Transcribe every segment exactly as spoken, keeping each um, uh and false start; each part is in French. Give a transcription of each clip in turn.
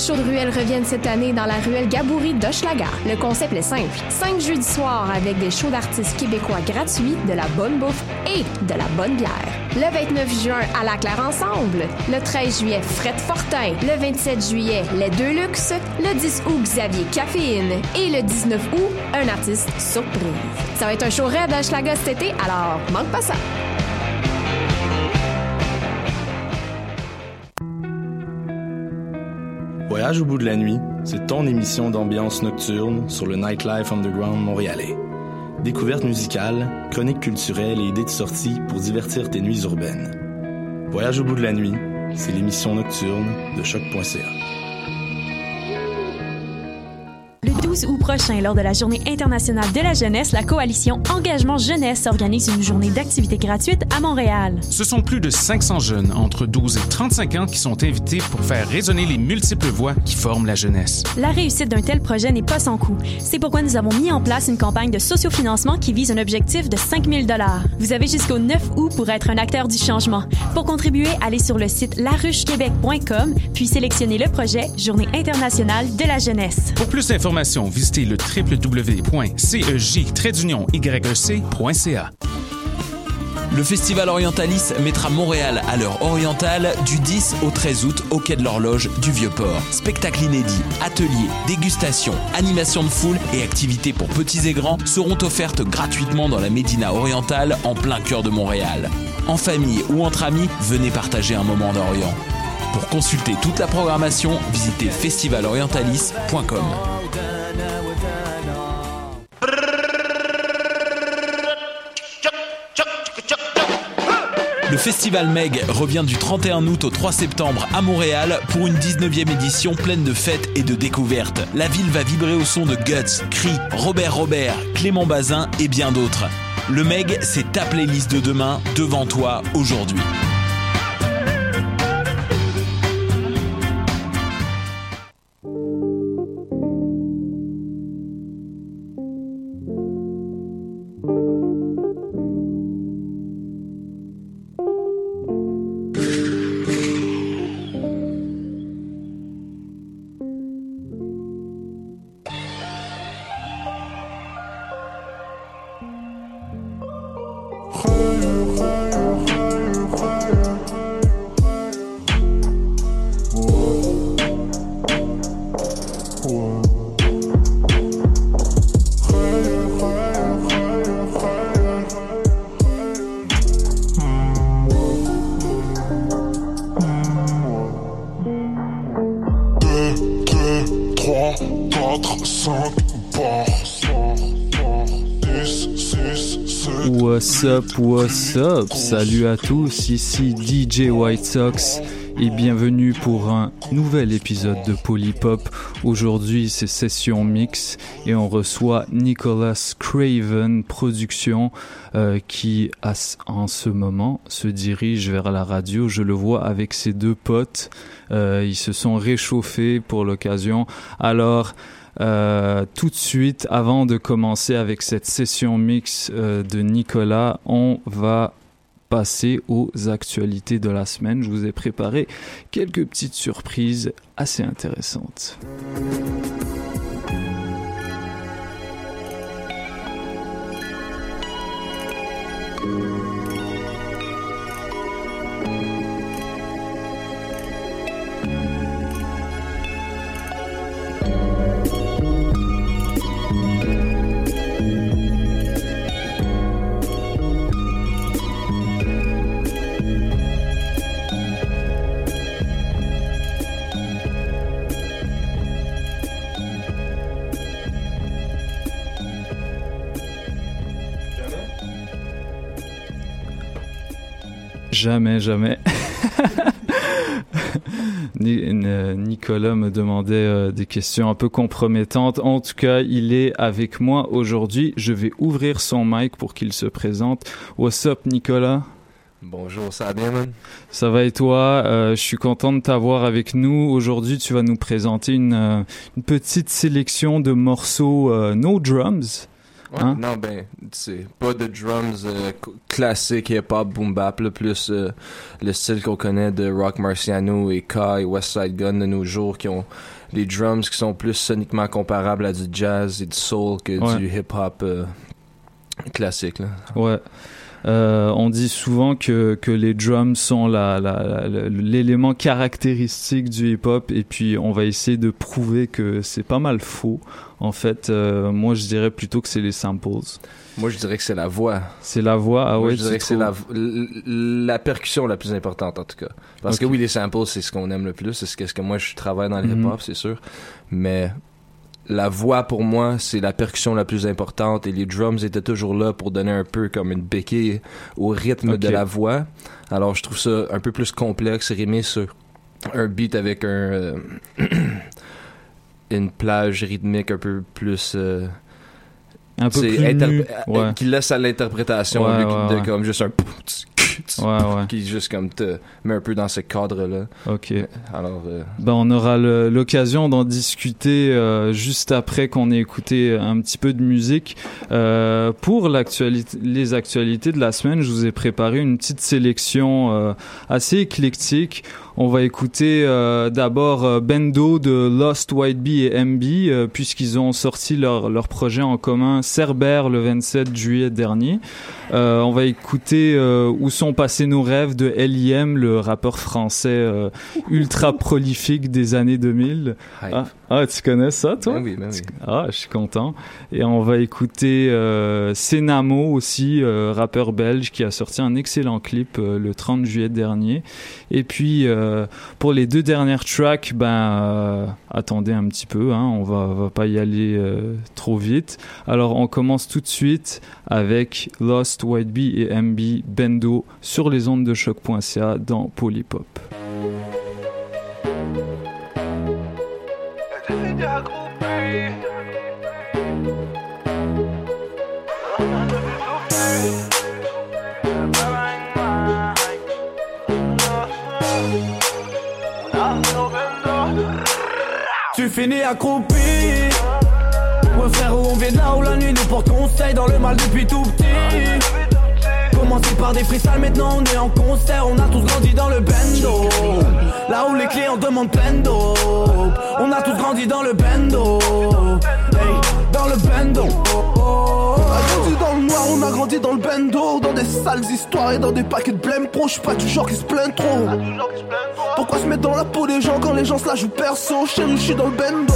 shows de ruelle reviennent cette année dans la ruelle Gaboury d'Hochelaga. Le concept est simple. Cinq jeudis soirs avec des shows d'artistes québécois gratuits, de la bonne bouffe et de la bonne bière. Le vingt-neuf juin, à la Claire Ensemble. Le treize juillet, Fred Fortin. Le vingt-sept juillet, Les Deux Luxe. Le dix août, Xavier Caféine. Et le dix-neuf août, un artiste surprise. Ça va être un show raide à Hochelaga cet été, alors manque pas ça. Voyage au bout de la nuit, c'est ton émission d'ambiance nocturne sur le Nightlife Underground montréalais. Découvertes musicales, chroniques culturelles et idées de sortie pour divertir tes nuits urbaines. Voyage au bout de la nuit, c'est l'émission nocturne de choc point c a. Le douze août prochain, lors de la Journée internationale de la jeunesse, la coalition Engagement Jeunesse organise une journée d'activités gratuites à Montréal. Ce sont plus de cinq cents jeunes entre douze et trente-cinq ans qui sont invités pour faire résonner les multiples voix qui forment la jeunesse. La réussite d'un tel projet n'est pas sans coût. C'est pourquoi nous avons mis en place une campagne de sociofinancement qui vise un objectif de cinq mille dollars. Vous avez jusqu'au neuf août pour être un acteur du changement. Pour contribuer, allez sur le site la ruche québec point com puis sélectionnez le projet Journée internationale de la jeunesse. Pour plus d'informations, visitez le w w w point cej trait d'union yec point c a. Le Festival Orientalis mettra Montréal à l'heure orientale du dix au treize août au Quai de l'Horloge du Vieux-Port. Spectacles inédits, ateliers, dégustations, animations de foule et activités pour petits et grands seront offertes gratuitement dans la Médina orientale en plein cœur de Montréal. En famille ou entre amis, venez partager un moment d'Orient. Pour consulter toute la programmation, visitez festival orientalis point com. Le Festival Meg revient du trente et un août au trois septembre à Montréal pour une dix-neuvième édition pleine de fêtes et de découvertes. La ville va vibrer au son de Guts, Cri, Robert Robert, Clément Bazin et bien d'autres. Le Meg, c'est ta playlist de demain devant toi aujourd'hui. What's up, what's up? Salut à tous, ici D J White Sox et bienvenue pour un nouvel épisode de Polypop. Aujourd'hui, c'est session mix et on reçoit Nicholas Craven Productions euh, qui, à, en ce moment, se dirige vers la radio. Je le vois avec ses deux potes. Euh, ils se sont réchauffés pour l'occasion. Alors... Euh, tout de suite, avant de commencer avec cette session mix euh, de Nicolas, on va passer aux actualités de la semaine. Je vous ai préparé quelques petites surprises assez intéressantes. Jamais, jamais. Nicolas me demandait euh, des questions un peu compromettantes. En tout cas, il est avec moi aujourd'hui. Je vais ouvrir son mic pour qu'il se présente. What's up, Nicolas? Bonjour, ça va bien, man? Ça va et toi? Euh, je suis content de t'avoir avec nous. Aujourd'hui, tu vas nous présenter une, euh, une petite sélection de morceaux euh, no drums. Ouais, hein? Non, ben, c'est pas de drums euh, classiques hip-hop boom-bap, là, plus euh, le style qu'on connaît de Rock Marciano et K et West Side Gun de nos jours qui ont les drums qui sont plus soniquement comparables à du jazz et du soul que ouais. du hip-hop euh, classique. Là. Ouais. Euh, on dit souvent que, que les drums sont la, la, la, l'élément caractéristique du hip-hop, et puis on va essayer de prouver que c'est pas mal faux. En fait, euh, moi je dirais plutôt que c'est les samples. Moi je dirais que c'est la voix. C'est la voix, ah moi, ouais. Je dirais que c'est la, la percussion la plus importante en tout cas. Parce okay. que oui, les samples c'est ce qu'on aime le plus, c'est ce que, ce que moi je travaille dans le mm-hmm. hip-hop, c'est sûr. Mais la voix, pour moi, c'est la percussion la plus importante, et les drums étaient toujours là pour donner un peu comme une béquille au rythme okay. de la voix. Alors, je trouve ça un peu plus complexe, rimé sur un beat avec un euh, une plage rythmique un peu plus... Euh, un peu plus interp- ouais. qui laisse à l'interprétation ouais, ouais, ouais, de ouais. comme juste un... Ouais, ouais. qui juste comme te met un peu dans ce cadre-là. Ok. Alors, euh... ben on aura le, l'occasion d'en discuter euh, juste après qu'on ait écouté un petit peu de musique. Euh, pour l'actualité, les actualités de la semaine, je vous ai préparé une petite sélection euh, assez éclectique. On va écouter euh, d'abord euh, Bendo de Lost White Bee et M B, euh, puisqu'ils ont sorti leur, leur projet en commun Cerbère le vingt-sept juillet dernier. Euh, on va écouter euh, Où sont passés nos rêves de L I M, le rappeur français euh, ultra prolifique des années deux mille. Ah, ah, tu connais ça, toi? Ben oui, ben oui. Ah, je suis content. Et on va écouter euh, Senamo aussi, euh, rappeur belge qui a sorti un excellent clip euh, le trente juillet dernier. Et puis euh, pour les deux dernières tracks, ben euh, attendez un petit peu, hein, on va, va pas y aller euh, trop vite. Alors on commence tout de suite avec Lost White Bee et M B Bendo sur les ondes de choc point c a dans Polypop. Tu finis accroupi. Ouais frérot, on vient de là où la nuit nous porte conseil, dans le mal depuis tout petit. Commencé par des freestyles, maintenant on est en concert. On a tous grandi dans le bendo, là où les clients demandent plein d'eau. On a tous grandi dans le bendo, hey, dans le bendo. On a grandi dans le noir, on a grandi dans le bendo, dans des sales histoires et dans des paquets de blême pro. J'suis pas du genre qui se plaint trop. Pourquoi se mettre dans la peau des gens quand les gens se la jouent perso? Chérie, j'suis dans le bendo.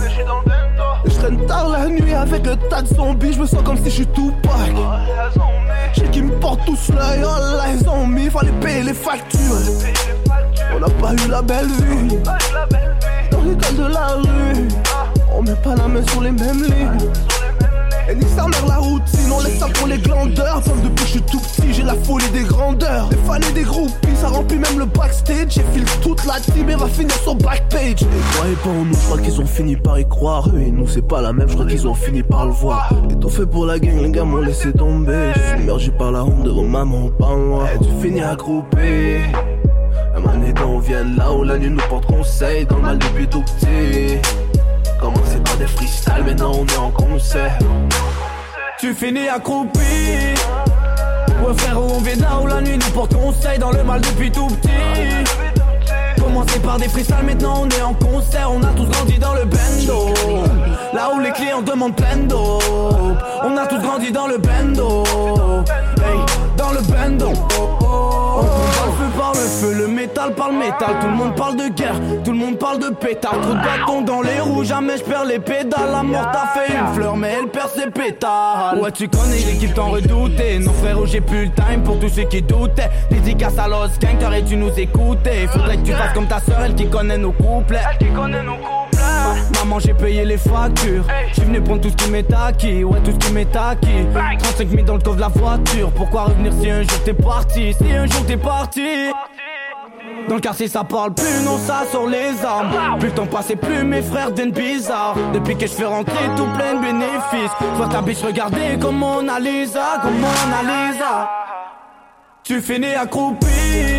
Je traîne tard la nuit avec le tas de zombies. Je me sens comme si j'suis Tupac. J'ai qui me portent tous l'œil. Oh là, ils ont mis, fallait payer les factures. On n'a pas eu la belle vie dans l'école de la rue. On met pas la main sur les mêmes lignes. Et ni sa mère la routine, on laisse ça pour les glandeurs. Comme depuis que je suis tout petit, j'ai la folie des grandeurs. Des fans et des groupies, ça remplit même le backstage. J'ai filé toute la team et va finir sur backpage. Et croyez pas en nous, je crois qu'ils ont fini par y croire. Eux et nous c'est pas la même, je crois qu'ils ont fini par le voir. Et tout fait pour la gang, les gars m'ont laissé tomber. Je suis submergé par la honte de vos mamans, pas moi. Et tu finis accroupi. Un manédan, on vient là où la nuit nous porte conseil. Dans le mal depuis tout petit. Commencé par des freestyles, maintenant on est en concert. Tu finis accroupi. Ouais frérot, on vient de là où la nuit nous porte conseil. Dans le mal depuis tout petit. Commencé par des freestyles, maintenant on est en concert. On a tous grandi dans le bendo, là où les clients demandent plein d'eau. On a tous grandi dans le bendo, hey, dans le bendo. On parle feu par le feu, le métal par le métal. Tout le monde parle de guerre, tout le monde parle de pétard. Trop de bâtons dans les roues, jamais je perds les pédales. La mort t'a fait une fleur, mais elle perd ses pétales. Ouais, tu connais l'équipe, t'en redoutais. Non frère, j'ai plus le time pour tous ceux qui doutaient. Dédicace à Los Gang, t'aurais-tu nous écouter? Faudrait que tu fasses comme ta soeur, elle qui connaît nos couplets. Elle qui connaît nos couplets. Maman, j'ai payé les factures. J'suis venu prendre tout ce qui m'est acquis. Ouais, tout ce qui m'est acquis. trente-cinq mille dans le coffre de la voiture. Pourquoi revenir si un jour t'es parti? Si un jour t'es parti. Dans le quartier ça parle plus, non ça sort les armes. Plus le temps passe et plus mes frères deviennent bizarres. Depuis que je fais rentrer tout plein de bénéfices. Vois ta biche regarder comme Mona Lisa, comme Mona Lisa. Tu finis accroupi.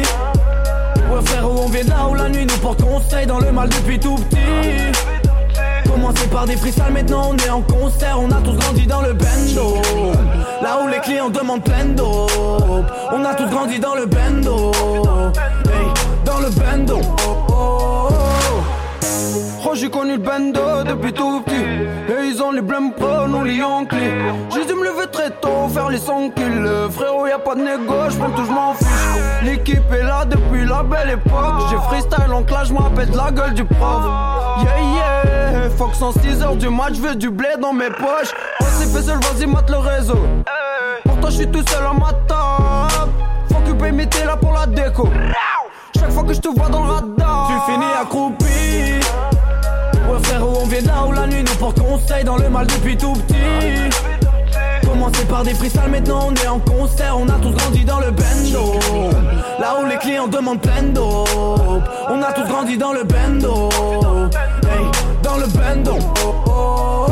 Ouais frérot, on vient de là où la nuit nous porte conseil. Dans le mal depuis tout petit. Commencé par des freestyles, maintenant on est en concert. On a tous grandi dans le bendo, là où les clients demandent plein d'eau. On a tous grandi dans le bendo, hey, dans le bendo. Oh j'ai j'ai connu le bando depuis tout petit. Et ils ont les blêmes pro, nous les Yankees. J'ai dû me lever très tôt, faire les cent kills. Frérot, y'a pas de négo, j'prends tout, j'm'en fiche. L'équipe est là depuis la belle époque. J'ai freestyle en clash, j'm'appelle de la gueule du prof. Yeah yeah, Fox en six heures du match, j'veux du blé dans mes poches. On s'est fait seul, vas-y mate le réseau. Pourtant j'suis tout seul à ma table. Faut que paye mes là pour la déco. Chaque fois que je te vois dans le radar, tu finis accroupi. Ouais frérot, on vient de là où la nuit nous porte conseil. Dans le mal depuis tout petit. Commencé par des freestyles, maintenant on est en concert. On a tous grandi dans le bendo. Là où les clients demandent plein d'eau. On a tous grandi dans le bendo. Hey, dans le bendo. Oh, oh, oh.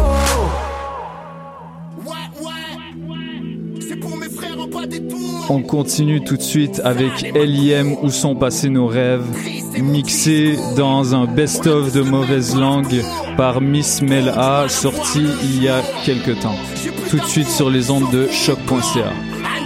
On continue tout de suite avec L I M Où sont passés nos rêves, mixé dans un best-of de mauvaise langue par Miss Mel A, sorti il y a quelques temps. Tout de suite sur les ondes de choc point c a.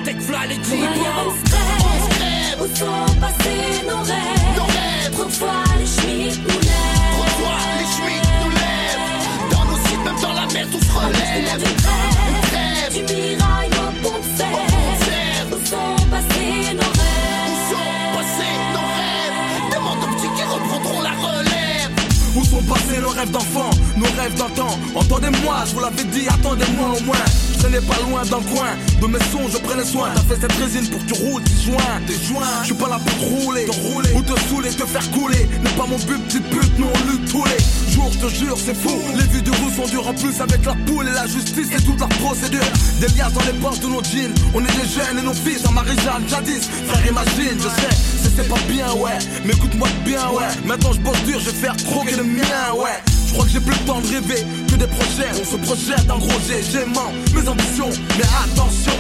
Où sont passés nos rêves d'enfant, nos rêves d'antan? Entendez-moi, je vous l'avais dit, attendez-moi au moins. Ce n'est pas loin dans le coin, de mes sons je prenais soin. T'as fait cette résine pour que tu roules, tes joints, tes joints. Je suis pas là pour te rouler, te rouler ou te saouler, te faire couler. N'est pas mon but, petite pute, nous on lutte tous les jours, je te jure, c'est fou. Les vues de rue sont dures en plus avec la poule et la justice et toute la procédure. Des liasses dans les poches de nos jeans, on est des jeunes et nos fils en Marie-Jeanne, jadis. Frère imagine, je sais, c'est, c'est pas bien, ouais. Mais écoute-moi bien, ouais. Maintenant je bosse dur, je vais faire croquer le mien, ouais. Je crois que j'ai plus le temps de rêver que des projets. On se projette en gros, j'ai, j'aimant mes ambitions. Mais attention,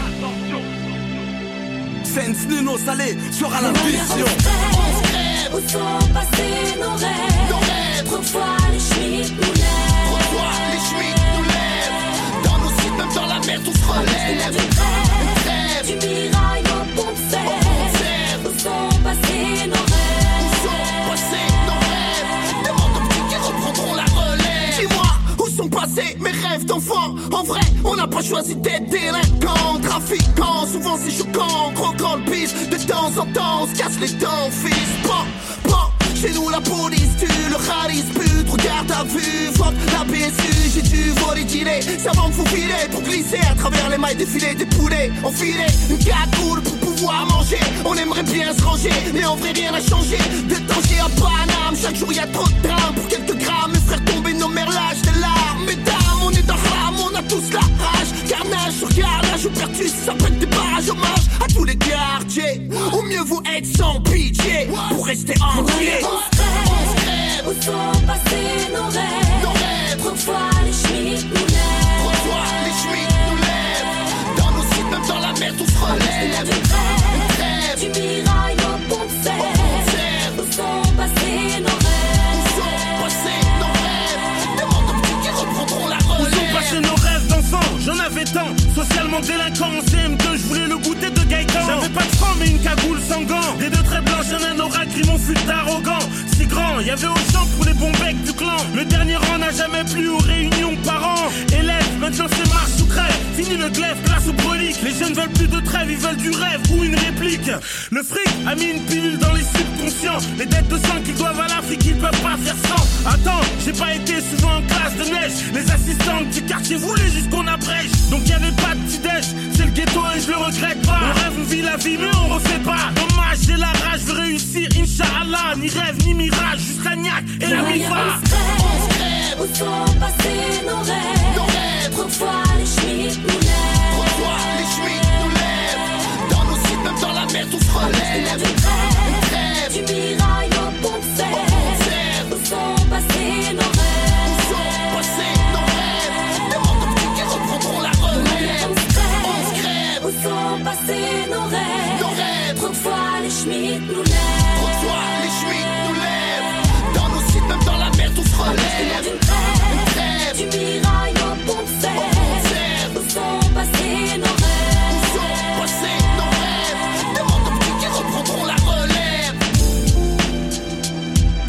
Sense Nino Salé sera l'ambition. On se crève, où sont passés nos rêves? Nos rêves, trop fois les chemises nous lèvent. Trop fois les chemises nous lèvent. Dans nos sites, même dans la mer, tout se relève. Du crève, du mirail au pont de Sèvres. Où sont passés nos rêves? Où sont passés nos rêves? Demande aux petits qui reprendront la relève. Dis-moi, où sont passés mes rêves d'enfant? En vrai, on n'a pas choisi d'être délinquants, trafiquants. Souvent c'est choquant, croquant le pisse. De temps en temps, on se casse les dents, fils. Bon, bon, chez nous la police tue, le rallye pute, regarde à vue, fuck la B S U, j'ai dû voler dîner, ça va me faufiler pour glisser à travers les mailles défilées des poulets, enfiler une cagoule pour pouvoir manger, on aimerait bien se ranger, mais en vrai rien n'a changé, de danger à Paname, chaque jour y a trop de drames, pour quelques grammes, mes frères tombés, nos mères lâchent des larmes, mesdames, on est dans rame, on a tous la rage, carnage sur carnage, ou pertus, ça pète des barrages, hommage à tous les quartiers, au mieux vous être sans pitié, pour rester entier. On se crève, où sont passés nos rêves? Nos rêves, trop fois les chemises nous lèvent. Trop fois les chemises nous lèvent. Dans nos sites, même dans la mer, tout se relève. Du crève, du mirail au pont de Sèvres. Où sont passés nos rêves? Où sont passés nos rêves? Demande aux petits qui reprendront la relève. Où sont passés nos rêves d'enfant? J'en avais tant. Socialement délinquant en C M deux, je voulais le goûter de Gaëtan. J'avais pas de franc mais une cagoule sans gants. Des deux traits blanches, un anorak, mon fut arrogant. Si grand, y'avait Auchan pour les bons becs du clan. Le dernier rang n'a jamais plu aux réunions parents. Élèves, maintenant c'est marche ou crève. Fini le glaive, place au brolique. Les jeunes veulent plus de trêve, ils veulent du rêve ou une réplique. Le fric a mis une pilule dans les subconscients. Les dettes de sang qu'ils doivent à l'Afrique, ils peuvent pas faire sans. Attends, j'ai pas été souvent en classe de neige. Les assistantes du quartier voulaient juste qu'on abrège. Donc y'avait pas de petit-déj, c'est le ghetto et je le regrette pas. On rêve, on vit la vie, mais on refait pas. Dommage, j'ai la rage, je veux réussir, Inch'Allah. Ni rêve, ni mirage, juste la niaque et la mifa. On se crève, où sont passés nos rêves? Nos rêves, trop fois les chemises nous lèvent. Trop fois les chemises nous lèvent. Dans nos sites, même dans la mer, tout se relève. Du crève, du mirail au pont de Sèvres. Où sont passés nos rêves? Où sont passés nos rêves? Demande aux petits qui reprendront la relève. On se crève, où sont passés nos rêves? Nos rêves, trop fois les chemises nous lèvent. Trop fois les chemises nous lèvent. Dans nos sites, même dans la mer, tout se relève. Du crève, du mirail au pont de Sèvres. Où sont passés nos rêves? Où sont passés nos rêves? Demande aux petits qui reprendront la relève.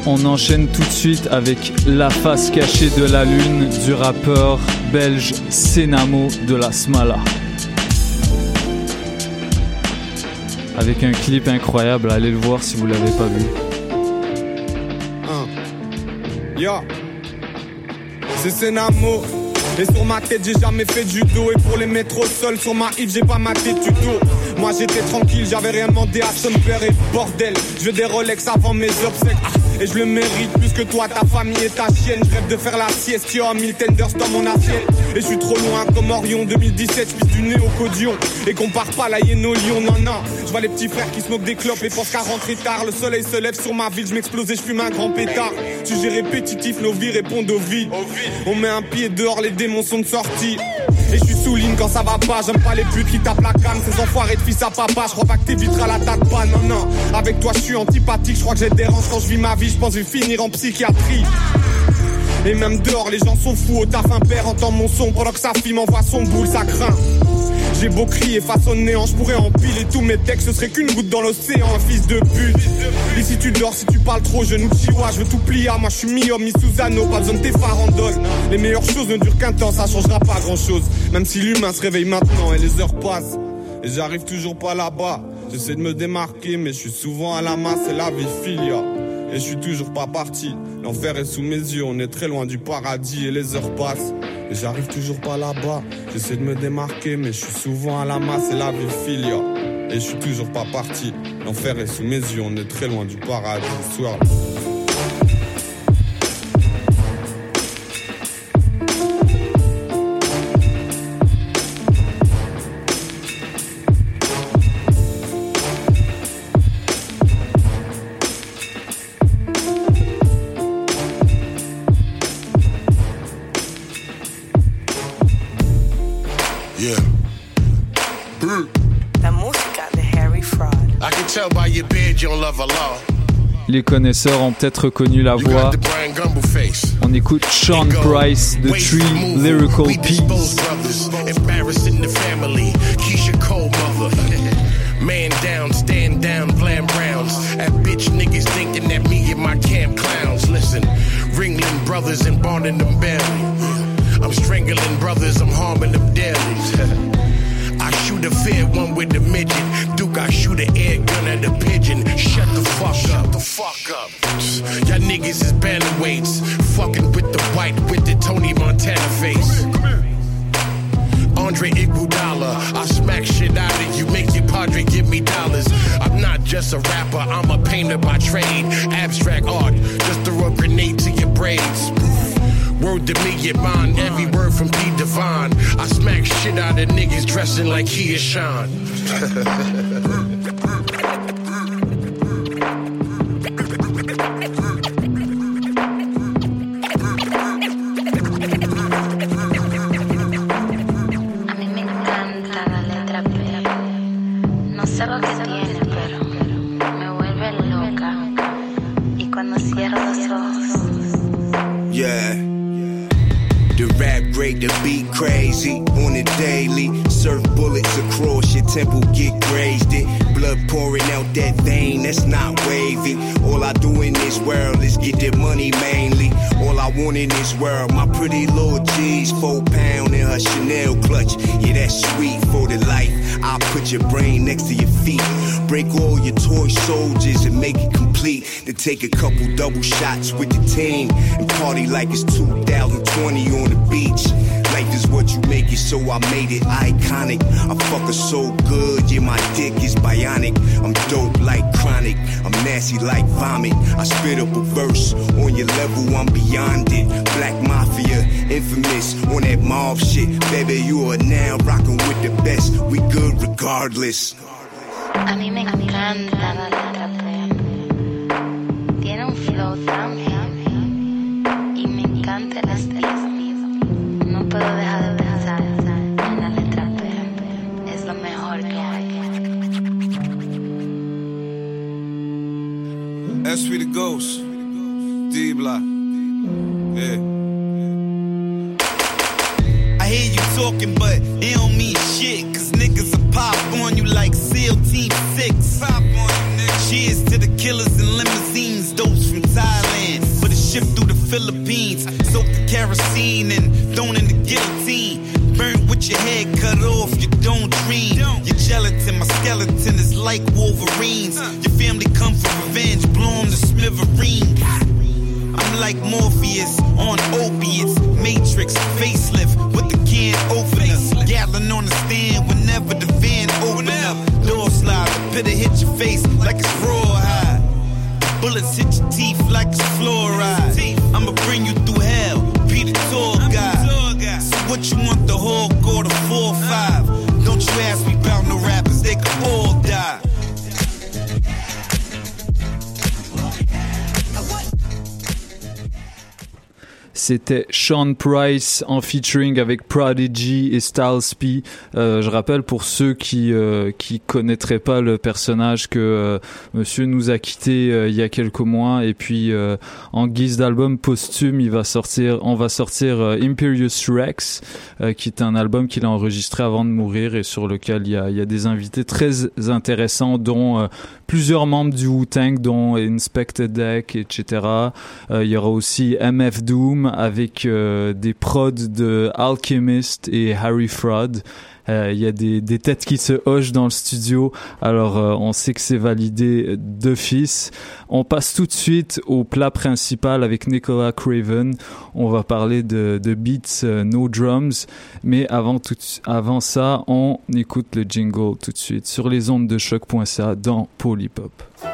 On enchaîne tout de suite avec La face cachée de la lune du rappeur belge Senamo de la Smala. Avec un clip incroyable, allez le voir si vous l'avez pas vu. Un. Yo, c'est Senamo. Et sur ma tête j'ai jamais fait de judo. Et pour les mettre au sol sur ma hip j'ai pas maté de tuto. Moi j'étais tranquille, j'avais rien demandé à son père. Et bordel, je veux des Rolex avant mes obsèques. Et je le mérite plus que toi, ta famille et ta chienne. Je rêve de faire la sieste, yo, mille tenders dans mon assiette. Et je suis trop loin comme Orion deux mille dix-sept, je suis du nez au codion. Et compare pas la hyène au lion, non non. Je vois les petits frères qui smoke des clopes et pensent qu'à rentrer tard. Le soleil se lève sur ma ville, je m'explose et je fume un grand pétard. Sujet répétitif, nos vies répondent aux vies. On met un pied dehors, les démons sont de sortie. Et je suis sous ligne quand ça va pas, j'aime pas les putes qui tapent la canne. Ces enfoirés de fils à papa, je crois pas que t'éviteras la tête pas, non non. Avec toi je suis antipathique, je crois que j'ai des dérange quand je vis ma vie, je pense que je vais finir en psychiatrie. Et même dehors les gens sont fous, au taf un père entend mon son pendant que sa fille m'envoie son boule, ça craint. J'ai beau crier face au néant, je pourrais empiler tous mes textes, ce serait qu'une goutte dans l'océan, un fils de pute. Et si tu dors, si tu parles trop, je nous chihuahua, je veux tout plier, moi je suis mi-homme, mi-Susano, pas besoin de tes farandoles. Les meilleures choses ne durent qu'un temps, ça changera pas grand chose. Même si l'humain se réveille maintenant et les heures passent. Et j'arrive toujours pas là-bas, j'essaie de me démarquer, mais je suis souvent à la masse, c'est la vie filia. Et je suis toujours pas parti, l'enfer est sous mes yeux, on est très loin du paradis et les heures passent. Et j'arrive toujours pas là-bas, j'essaie de me démarquer, mais je suis souvent à la masse, c'est la vie filia. Et je suis toujours pas parti, l'enfer est sous mes yeux, on est très loin du paradis, soir. Les connaisseurs ont peut-être reconnu la voix. On écoute Sean Price de Three Lyrical Peas. Man down, stand down, glam rounds. At bitch niggas thinking that me and my camp clowns. Listen, Ringling brothers and bonding them belly. I'm strangling brothers, I'm harming them daily. I shoot a fair one with the midget. Duke, I shoot an air gun at a pigeon. Shut the fuck up. The fuck up. Y'all niggas is bantamweights. Fucking with the white with the Tony Montana face. Andre Iguodala, I smack shit out of you, make your padre give me dollars. I'm not just a rapper, I'm a painter by trade. Abstract art, just throw a grenade to your braids. Word to me, get mine, every word from P. Divine. I smack shit out of niggas dressing like he is Sean. The beat crazy on the daily. Surf bullets across your temple, get grazed it. Blood pouring out that vein, that's not wavy. All I do in this world is get the money mainly. All I want in this world, my pretty little G's, four pound in her Chanel clutch. Yeah, that's sweet for the life. I'll put your brain next to your feet. Break all your toy soldiers and make it complete. Then take a couple double shots with the team and party like it's two thousand twenty on the beach. Life is what you make it, so I made it iconic. I fuck her so good, yeah, my dick is bionic. I'm dope like chronic, I'm nasty like vomit. I spit up a verse, on your level, I'm beyond it. Black Mafia, infamous, on that mob shit. Baby, you are now rocking with the best, we good regardless. A mí me encanta la letra, tiene un flow tan heavy y me encanta el estilo. No puedo dejar de pensar en la letra P, es lo mejor que hay. That's we the ghost, D-Block, yeah. I hear you talking, but it don't mean shit, cause niggas will pop on you like SEAL Team six. Pop on you, nigga. Cheers to the killers in limousines, those from Thailand. skeleton is like Wolverines. Your family come for revenge, blow 'em to smithereens. I'm like Morpheus on opiates, Matrix, facelift with the can opener. Gatlin on the stand whenever the van open up. Door slide, the pitter hit your face like it's rawhide. Bullets hit your teeth like it's fluoride. I'ma bring you through hell, be the tour guide. So what you want, the Hulk or the four five? Don't you ask me about no rappers, they can all die. C'était Sean Price en featuring avec Prodigy et Styles P. Euh, je rappelle pour ceux qui euh, qui connaîtraient pas le personnage que euh, Monsieur nous a quitté euh, il y a quelques mois, et puis euh, en guise d'album posthume, il va sortir, on va sortir euh, Imperious Rex, euh, qui est un album qu'il a enregistré avant de mourir et sur lequel il y a il y a des invités très intéressants, dont euh, plusieurs membres du Wu-Tang, dont Inspector Deck, et cetera. Euh, il y aura aussi M F Doom avec euh, des prods de Alchemist et Harry Fraud. Euh, il y a des, des têtes qui se hochent dans le studio, alors euh, on sait que c'est validé d'office. On passe tout de suite au plat principal avec Nicolas Craven. On va parler de, de beats euh, no drums, mais avant, tout, avant ça, on écoute le jingle tout de suite sur les ondes de choc point c a dans Polypop.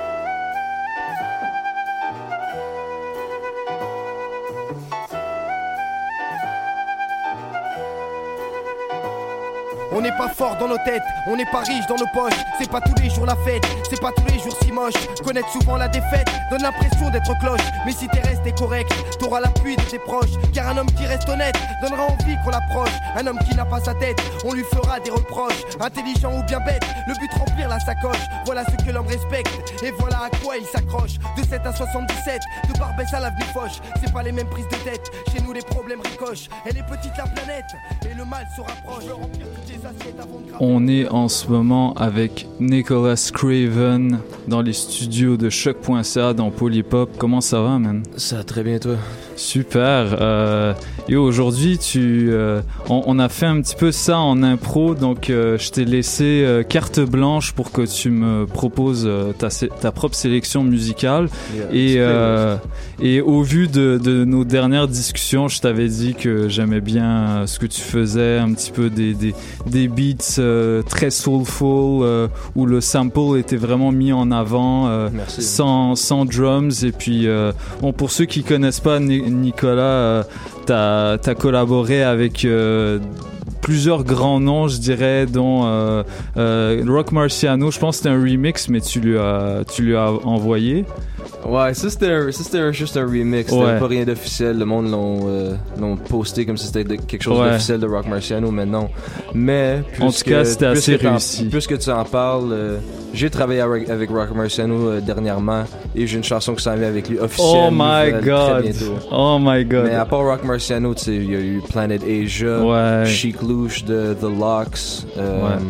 On n'est pas fort dans nos têtes, on n'est pas riche dans nos poches. C'est pas tous les jours la fête, c'est pas tous les jours si moche. Connaître souvent la défaite donne l'impression d'être cloche. Mais si t'es resté correct, t'auras l'appui de tes proches. Car un homme qui reste honnête donnera envie qu'on l'approche. Un homme qui n'a pas sa tête, on lui fera des reproches. Intelligent ou bien bête, le but remplir la sacoche. Voilà ce que l'homme respecte, et voilà à quoi il s'accroche. De sept à soixante-dix-sept, de Barbès à l'avenue Foch. C'est pas les mêmes prises de tête, chez nous les problèmes ricochent. Elle est petite la planète, et le mal se rapproche. Je veux remplir toutes les assiettes avant de... On est en ce moment avec Nicolas Craven dans les studios de choc point c a dans Polypop. Comment ça va, man? Ça va très bien, toi? Super. Euh, et aujourd'hui, tu, euh, on, on a fait un petit peu ça en impro, donc euh, je t'ai laissé euh, carte blanche pour que tu me proposes euh, ta, ta propre sélection musicale. Yeah, et, euh, et au vu de, de nos dernières discussions, je t'avais dit que j'aimais bien ce que tu faisais, un petit peu des, des, des beats euh, très soulful, euh, où le sample était vraiment mis en avant, euh, sans, sans drums. Et puis, euh, bon, pour ceux qui connaissent pas Nicolas, euh, t'as, t'as collaboré avec euh, plusieurs grands noms, je dirais, dont euh, euh, Rock Marciano. Je pense que c'était un remix, mais tu lui as, tu lui as envoyé. Ouais, ça c'était, un, ça c'était un, juste un remix, c'était ouais. Pas rien d'officiel. Le monde l'ont, euh, l'ont posté comme si c'était de, quelque chose ouais. d'officiel de Rock Marciano, mais non. Mais en tout cas, c'était assez réussi. Puisque tu en parles, euh, j'ai travaillé avec Rock Marciano euh, dernièrement et j'ai une chanson qui s'en vient avec lui officielle. Oh my god! Oh my god! Mais à part Rock Marciano, tu sais, il y a eu Planet Asia, ouais. Chic Louche de The Lox. Euh, ouais.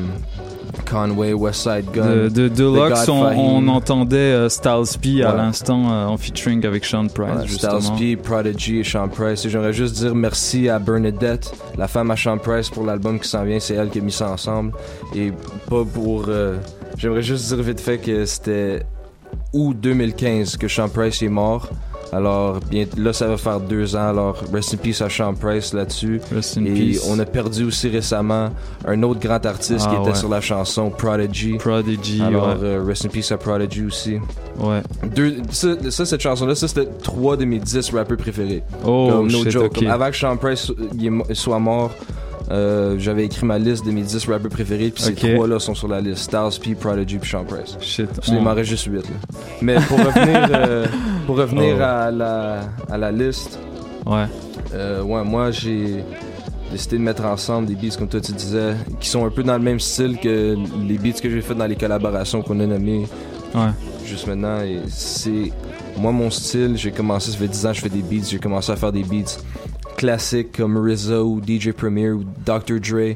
Conway, West Side Gun. De, de, de Lux, on, on entendait euh, Styles P ouais. à l'instant euh, en featuring avec Sean Price. Ouais, justement. Styles P, Prodigy et Sean Price. Et j'aimerais juste dire merci à Bernadette, la femme à Sean Price, pour l'album qui s'en vient. C'est elle qui a mis ça ensemble. Et pas pour. Euh, j'aimerais juste dire vite fait que c'était août deux mille quinze que Sean Price est mort. Alors, bien, là, ça va faire deux ans. Alors, rest in peace à Sean Price là-dessus. Rest in Et peace. On a perdu aussi récemment un autre grand artiste ah, qui était ouais. sur la chanson, Prodigy. Prodigy, Alors, ouais. euh, rest in peace à Prodigy aussi. Ouais. Deux, ça, ça, cette chanson-là, ça, c'était trois de mes dix rappeurs préférés. Oh, Comme, no shit, joke. okay. Comme avant que Sean Price soit mort, Euh, j'avais écrit ma liste de mes dix rappeurs préférés, puis okay. ces trois-là sont sur la liste. Styles P, Prodigy, puis Sean Price. Shit. Il oh. m'en reste juste huit, là. Mais pour revenir, euh, pour revenir oh. à, la, à la liste, ouais. Euh, ouais, moi j'ai décidé de mettre ensemble des beats, comme toi tu disais, qui sont un peu dans le même style que les beats que j'ai fait dans les collaborations qu'on a nommées ouais. juste maintenant. Et c'est moi, mon style, j'ai commencé, ça fait dix ans que je fais des beats, j'ai commencé à faire des beats classiques comme R Z A ou D J Premier ou docteur Dre,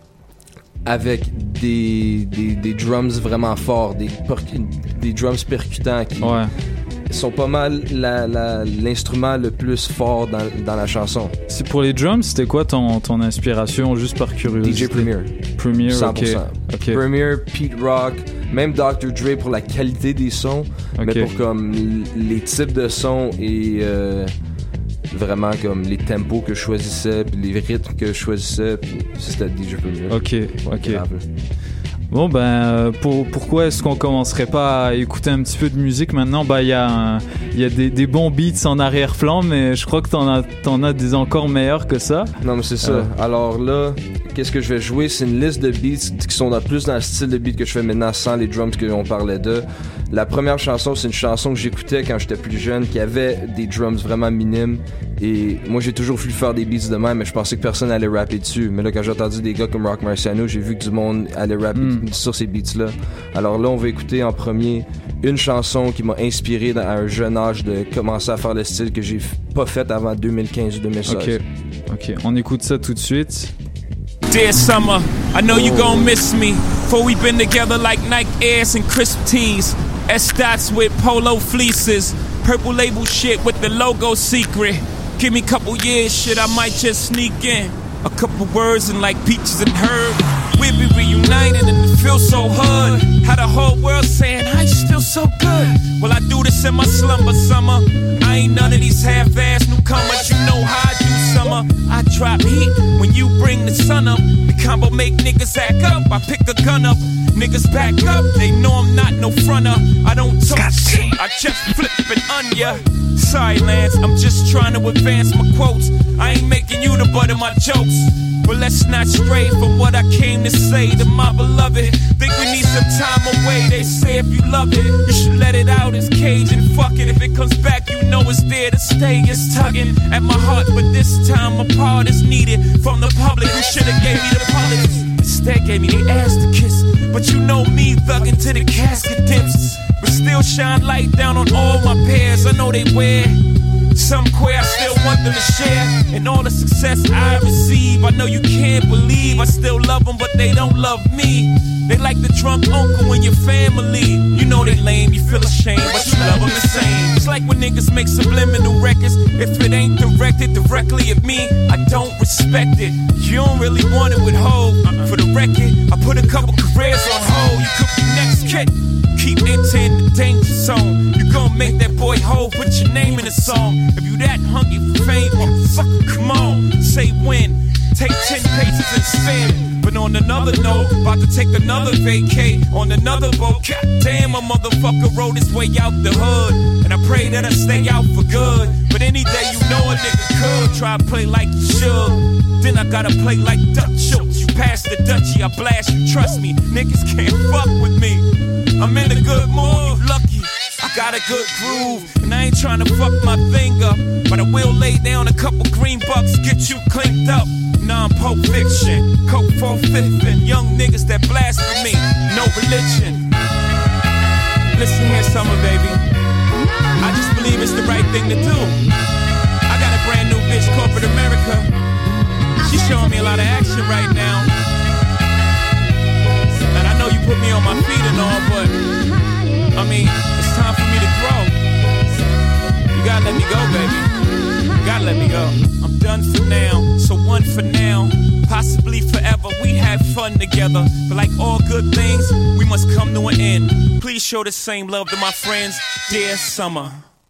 avec des, des, des drums vraiment forts, des, des drums percutants qui ouais. sont pas mal la, la, l'instrument le plus fort dans, dans la chanson. C'est pour les drums, c'était quoi ton, ton inspiration, juste par curiosité? D J Premier. Premier, cent pour cent. ok. Okay. Premier, Pete Rock, même docteur Dre pour la qualité des sons, okay. mais pour comme les types de sons et euh, vraiment comme les tempos que je choisissais, puis les rythmes que je choisissais, puis c'était D J Premier. Ok, ouais, ok. Grave. Bon ben pour, pourquoi est-ce qu'on commencerait pas à écouter un petit peu de musique maintenant? Ben il y a il y a des, des bons beats en arrière-plan, mais je crois que t'en as t'en as des encore meilleurs que ça. Non mais c'est ça. Euh... Alors là, qu'est-ce que je vais jouer? C'est une liste de beats qui sont dans, plus dans le style de beat que je fais maintenant sans les drums que on parlait de. La première chanson, c'est une chanson que j'écoutais quand j'étais plus jeune, qui avait des drums vraiment minimes. Et moi, j'ai toujours voulu faire des beats de même, mais je pensais que personne allait rapper dessus. Mais là, quand j'ai entendu des gars comme Rock Marciano, j'ai vu que du monde allait rapper mm. sur ces beats-là. Alors là, on va écouter en premier une chanson qui m'a inspiré dans, à un jeune âge de commencer à faire le style que j'ai pas fait avant deux mille quinze ou deux mille seize. Ok, ok. On écoute ça tout de suite. Dear summer, I know you gon' miss me. For we been together like Nike Airs and crisp tees. S-Dots with polo fleeces. Purple label shit with the logo secret. Give me a couple years, shit, I might just sneak in. A couple words and like peaches and herb. We'll be reunited and it feels so hood. How the whole world saying, how you still so good? Well, I do this in my slumber summer. I ain't none of these half-ass newcomers. You know how I do summer. I drop heat when you bring the sun up. The combo make niggas act up. I pick a gun up. Niggas back up. They know I'm not no fronter. I don't talk shit. I just flip an onion. Sorry, Lance. I'm just trying to advance my quotes. I ain't making you the butt of my jokes. But let's not stray from what I came to say to my beloved. Think we need some time away. They say if you love it, you should let it out. It's cage and fuck it. If it comes back, you know it's there to stay. It's tugging at my heart, but this time a part is needed from the public who should've gave me the politics. Instead gave me the ass to kiss. But you know me, thugging to the casket dips. But still shine light down on all my pairs. I know they wear some queer, I still want them to share. And all the success I receive, I know you can't believe I still love them, but they don't love me. They like the drunk uncle in your family. You know they lame, you feel ashamed, but you love them the same. It's like when niggas make subliminal records. If it ain't directed directly at me, I don't respect it. You don't really want it with Hov. For the record, I put a couple careers on hold. You could be next kid. Keep entering the danger zone. You gon' make that boy Hov put your name in the song. If you that hungry for fame, motherfucker, come on. Say when. Take ten paces and spin. But on another note, about to take another vacay on another boat. God damn, a motherfucker rode his way out the hood. And I pray that I stay out for good. But any day you know a nigga could try to play like you should. Then I gotta play like Dutch Schultz. You pass the Dutchie, I blast you. Trust me, niggas can't fuck with me. I'm in a good mood, lucky. I got a good groove, and I ain't tryna fuck my thing up. But I will lay down a couple green bucks, get you cleaned up. Non-Pulp Fiction, coke for fifth, and young niggas that blasphemy, no religion. Listen here, summer baby, I just believe it's the right thing to do. I got a brand new bitch, corporate America. She's showing me a lot of action right now. And I know you put me on my feet and all, but I mean, it's time for me to grow. You gotta let me go, baby. You gotta let me go. I'm done for now, so one for now. Possibly forever, we had fun together. But like all good things, we must come to an end. Please show the same love to my friends, dear summer.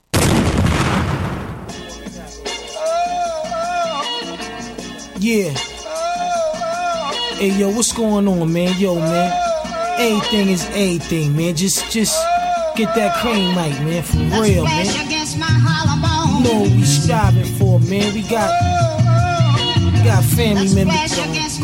Yeah. Hey, yo, what's going on, man? Yo, man. Everything is everything, man. Just, just get that cream mic, man. For real, man. You know what we striving for, man. We got, we got family members.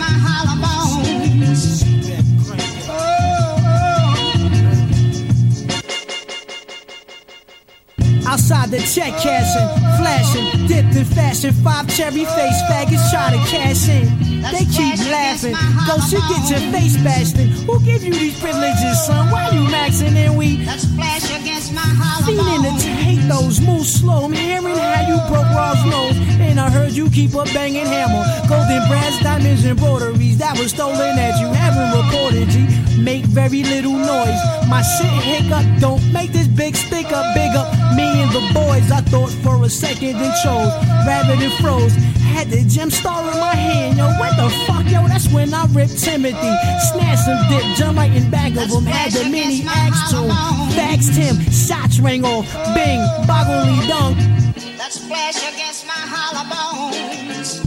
Outside the check cashing, flashing, dipped in fashion. Five cherry face faggots try to cash in. They keep laughing. Go should get your face bashed in. Who give you these privileges, son? Why you maxing and we feeling to hate those moves slow? I'm hearing how you broke Raw's nose, and I heard you keep a banging hammer. Golden brass, diamonds, and embroideries that was stolen that you haven't reported. G, make very little noise. My shit hiccup. Don't make this big stick up, big up. Me and the boys, I thought for a second and chose. Rabbit and froze. had the gem star in my hand. Yo, what the fuck, yo? That's when I ripped Timothy. Snatched some dip, jumped right in back of him. Had the mini axe to him. Faxed him, shots rang off. Bing, boggly dunk. That splash against my hollow bones.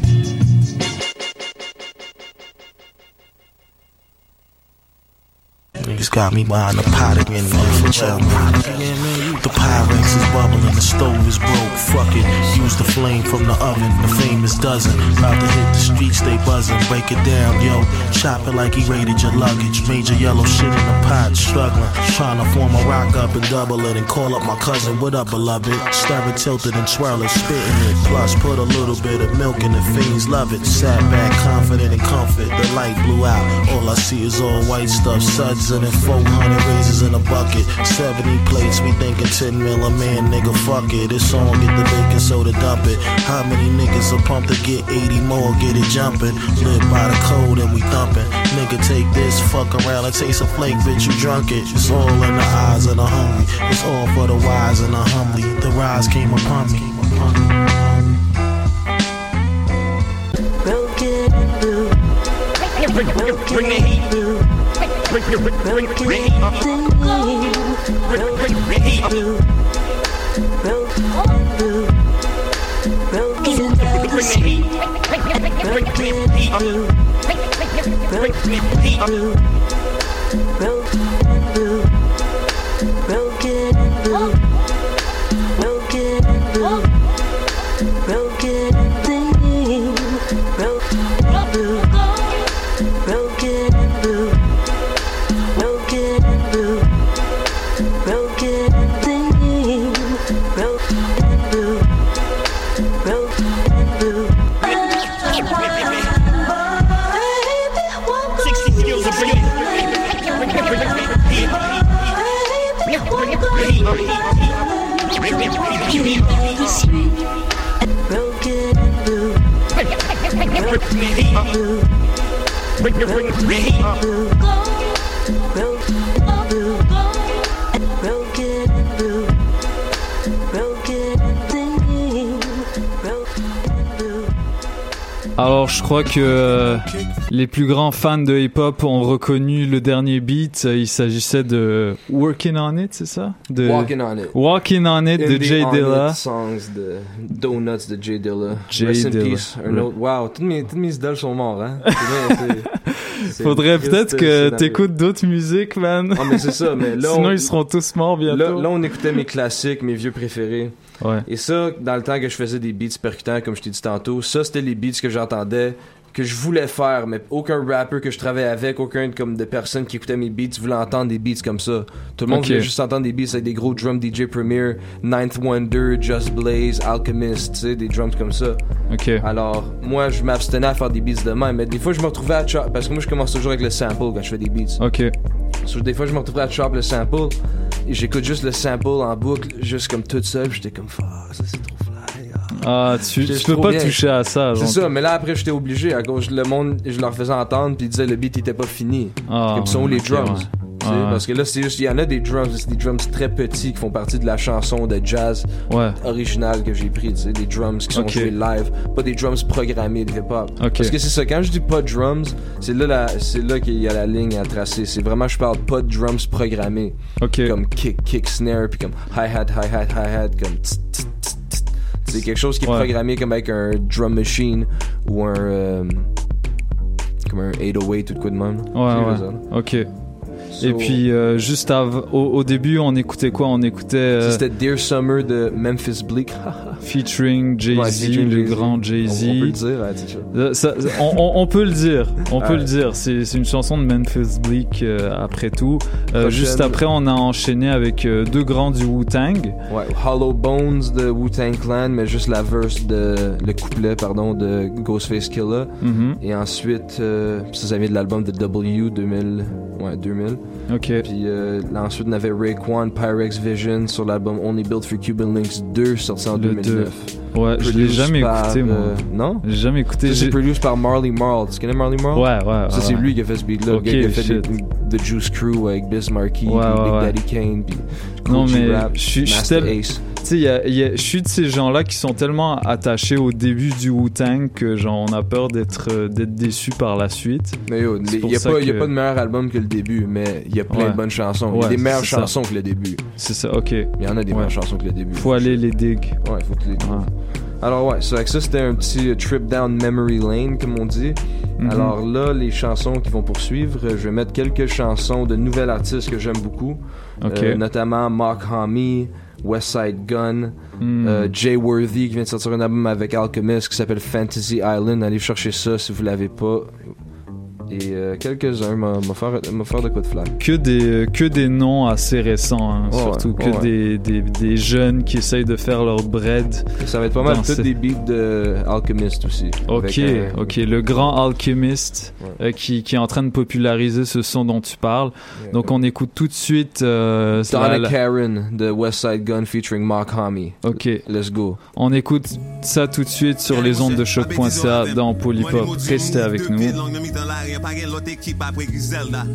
Niggas got me behind the pot again, man, for chill, man. The Pyrex is bubbling, the stove is broke, fuck it. Use the flame from the oven, the famous dozen. About to hit the streets, they buzzing, break it down, yo. Chop it like he raided your luggage. Major yellow shit in the pot, struggling. Trying to form a rock up and double it and call up my cousin, what up, beloved? Stir it, tilt it and twirl it, spitting it. Plus, put a little bit of milk in the fiends, love it. Sat back, confident and comfort, the light blew out. All I see is all white stuff, suds and four hundred razors in a bucket, seventy plates, we thinking ten mil a man, nigga, fuck it. It's on, get the baking soda, dump it. How many niggas are pumped to get eighty more, get it jumping. Live by the code and we thumping. Nigga, take this, fuck around and taste a flake, bitch, you drunk it. It's all in the eyes of the hungry. It's all for the wise and the humbly. The rise came upon me. Broken blue. Bring the heat blue. Bring the heat blue. Broken blue. Broken blue. Broken bring the heat. Broken blue. Broken blue. Broken blue. Broken blue. Broken blue. Broken thing. Broken blue. Broken blue. Broken blue. Broken thing. Broken blue. Broken blue. sixty skills of bringing. Alors je crois que euh, les plus grands fans de hip-hop ont reconnu le dernier beat. Il s'agissait de Working On It, c'est ça? De Walking On It. Walking On It de Jay Dilla. Songs de Donuts de Jay Dilla. Jay Rest Dilla. in peace. Un autre. Wow, tous mes, tous mes idoles sont morts, hein. C'est vrai, c'est, Faudrait triste, peut-être que scénario. t'écoutes d'autres musiques, man. Ah, mais c'est ça, mais là. Sinon on... ils seront tous morts bientôt. Là, là, on écoutait mes classiques, mes vieux préférés. Ouais. Et ça, dans le temps que je faisais des beats percutants, comme je t'ai dit tantôt, ça, c'était les beats que j'entendais, que je voulais faire, mais aucun rapper que je travaillais avec, aucun comme de personnes qui écoutaient mes beats voulait entendre des beats comme ça. Tout le monde Ok. voulait juste entendre des beats avec des gros drums D J Premier, Ninth Wonder, Just Blaze, Alchemist, tu sais, des drums comme ça. Ok. Alors, moi, je m'abstenais à faire des beats de même, mais des fois, je me retrouvais à chop, parce que moi, je commence toujours avec le sample quand je fais des beats. Ok. So, des fois, je me retrouvais à chop le sample, et j'écoute juste le sample en boucle, juste comme tout seul, puis j'étais comme, fuck, ça c'est trop fly. Ah, tu, J'étais tu peux trop pas bien. toucher à ça. C'est genre. ça, mais là après j'étais obligé à cause le monde, je leur faisais entendre puis ils disaient le beat était pas fini. Ah, Comme sont ouais, les ok, drums. ouais. Tu sais, Ouais. Parce que là c'est juste, il y en a des drums, c'est des drums très petits qui font partie de la chanson de jazz Ouais. originale que j'ai pris, tu sais, des drums qui sont Ok. joués live, pas des drums programmés de hip-hop. Ok. Parce que c'est ça, quand je dis pas de drums, c'est là, la, c'est là qu'il y a la ligne à tracer. C'est vraiment, je parle pas de drums programmés. Ok. Comme kick, kick, snare, puis comme hi-hat, hi-hat, hi-hat, comme tss, tss, tss, tss. C'est quelque chose qui est Ouais. programmé comme avec un drum machine ou un euh, comme un eight oh eight ou de quoi de même. Ouais, Tu ouais. sais, ça. Ok. So- Et puis euh, juste av- au, au début, on écoutait quoi? On écoutait euh, C'était Dear Summer de Memphis Bleak. featuring Jay-Z, Ouais, featuring le Jay-Z. grand Jay-Z. On, on peut le dire, hein, tu sais. Euh, ça- on, on- on peut le dire, on peut Ouais. le dire. C'est, c'est une chanson de Memphis Bleak euh, après tout. Euh, Prochaine. juste après, on a enchaîné avec euh, deux grands du Wu-Tang. Ouais, Hollow Bones de Wu-Tang Clan, mais juste la verse de le couplet pardon de Ghostface Killah. Mhm. Et ensuite, euh, ça, ça vient de l'album de W deux mille, ouais deux mille. Ok. Puis euh, là, ensuite on avait Raekwon Pyrex Vision sur l'album Only Built for Cuban Links deux sorti en Le deux mille neuf. deux. Ouais, je l'ai Produced jamais par, écouté, moi. euh, non? J'ai jamais écouté. Ça, c'est J'ai- produit par Marley Marl. Tu connais Marley Marl? Ouais, ouais, Ça, ouais, c'est ouais. lui qui a fait ce beat-là. Ok, le gars qui a fait shit. des- The Juice Crew avec Biz Markie, Ouais, puis ouais, Big ouais. Daddy Kane, puis Non, Cool G mais Rap, je suis- je suis Master tel- Ace. sais, y a, y a, je suis de ces gens-là qui sont tellement attachés au début du Wu-Tang que genre on a peur d'être euh, d'être déçus par la suite. Mais yo, il y a pas que... y a pas de meilleur album que le début, mais il y a plein ouais. de bonnes chansons. Il ouais, y a des meilleures chansons ça. que le début. C'est ça, ok. Il y en a des ouais. meilleures chansons que le début. Faut aller les dig. Ouais, faut que les dig. Ouais. Alors ouais, c'est avec ça c'était un petit uh, trip down memory lane comme on dit. Mm-hmm. Alors là, les chansons qui vont poursuivre, je vais mettre quelques chansons de nouvelles artistes que j'aime beaucoup, okay. euh, notamment Mark Homme, Westside Gunn, mm. euh, Jay Worthy qui vient de sortir un album avec Alchemist qui s'appelle Fantasy Island. Allez chercher ça si vous l'avez pas. Et euh, quelques-uns m'ont faire, faire de quoi de flamme. Que des, que des noms assez récents, hein, oh, surtout ouais, que oh, ouais. des, des, des jeunes qui essayent de faire leur bread. Et ça va être pas mal tous ces... des beats de Alchemist aussi. Ok, un... ok, le grand Alchemist ouais. euh, qui, qui est en train de populariser ce son dont tu parles. Yeah, Donc yeah. on écoute tout de suite euh, Donna la... Karen de Westside Gun featuring Mark Homme. Ok, let's go. On écoute ça tout de suite sur les ondes de choc point c a dans Polypop. Restez avec nous. Pagué l'autre équipe après Griselda.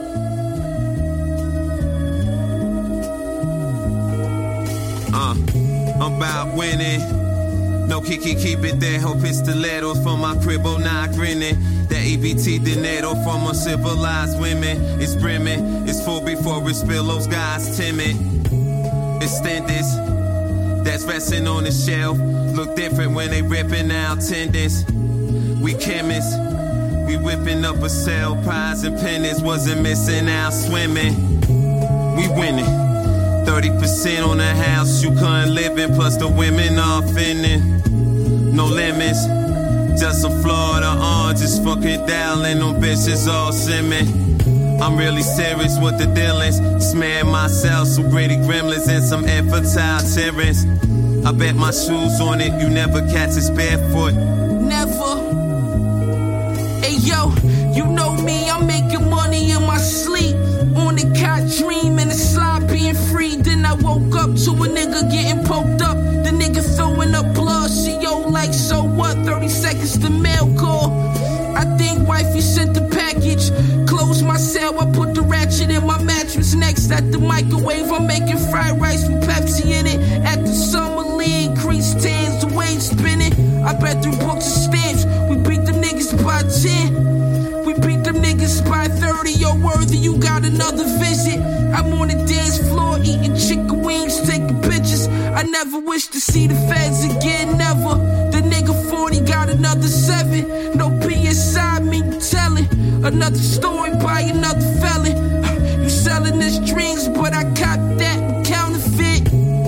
Uh, I'm about winning. No kiki, keep it there. Ho pistoleros from my crib, oh nah grinning. That E B T dinero from uncivilized women. It's brimming, it's full before it spill. Those guys timid. Extenders, that's resting on the shelf. Look different when they ripping out tendons. We chemists. We whipping up a cell, prize and pennants, wasn't missing out swimming. We winning. thirty percent on the house, you couldn't live in, plus the women all finning. No limits, just some Florida oranges, fucking dialing, them bitches all simming. I'm really serious with the dealings, smearing myself some gritty gremlins and some infantile tyrants. I bet my shoes on it, you never catch us barefoot. Never. Hey yo, you know me, I'm making money in my sleep. On the cot dreaming, the slide being free. Then I woke up to a nigga getting poked up. The nigga throwing up blood. She yo like, so what? thirty seconds to mail call. I think wifey sent the package. Close my cell, I put the ratchet in my mattress. Next at the microwave, I'm making fried rice with Pepsi in it. At the summer league, crease tans, the wave spinning. I bet through books and stamps, we beat them niggas by ten. We beat them niggas by thirty. Yo, Worthy, you got another visit. I'm on the dance floor eating chicken wings, taking pictures. I never wish to see the feds again, never. The nigga forty got another seven. No P S I, me telling. Another story by another felon. You selling this dreams, but I caught that counterfeit.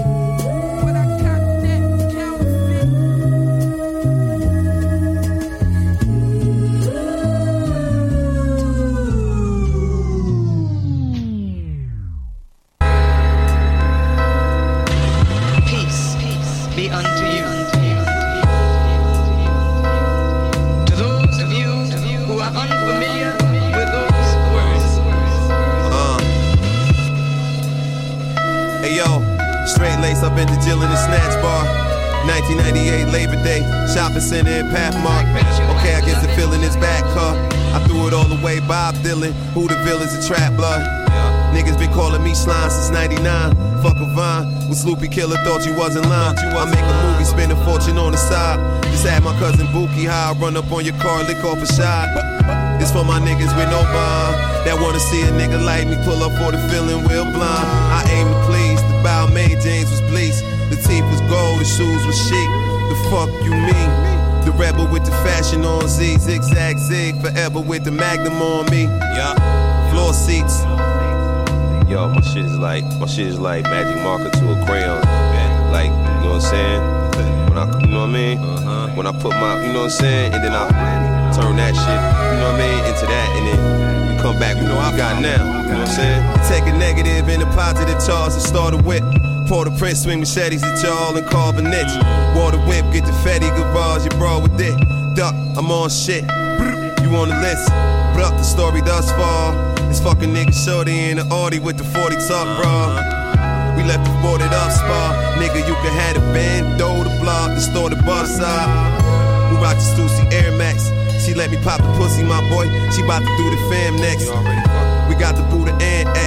Up in the Jill in the Snatch Bar. nineteen ninety-eight Labor Day, shopping center in Pathmark. Okay, I guess the feeling is back, huh? I threw it all away, Bob Dylan. Who the villain's a trap blood? Niggas been calling me slime since ninety-nine. Fuck a vine, when Sloopy Killer thought you wasn't lying. I make a movie, spend a fortune on the side. Just had my cousin Bookie, how I run up on your car, lick off a shot. It's for my niggas with no bond, that wanna see a nigga like me pull up for the feeling real blind. I aim to please, the bow made James was bleached. The teeth was gold, the shoes was chic. The fuck you mean? The rebel with the fashion on Z, zigzag zig, forever with the magnum on me. Yeah, floor seats. Yo, my shit is like, my shit is like magic marker to a crayon. Like, you know what I'm saying? When I, you know what I mean? Uh-huh. When I put my, you know what I'm saying? And then I turn that shit, you know what I mean, into that, and then you come back with what you got now, you know what I'm saying? Take a negative and a positive charge and start a whip. Pour the Prince, swing machetes at y'all and carve a niche. Water whip, get the Fetty garage, you brawl with it. Duck, I'm on shit, you on the list. Bruck, the story thus far. This fucking nigga shorty in the Audi with the forty top bra. We left the boarded up spa. Nigga, you can have the band, throw the block, the store the bus side. We rock the Stussy Air Max. She let me pop the pussy, my boy. She bout to do the fam next. We got the Buddha and X.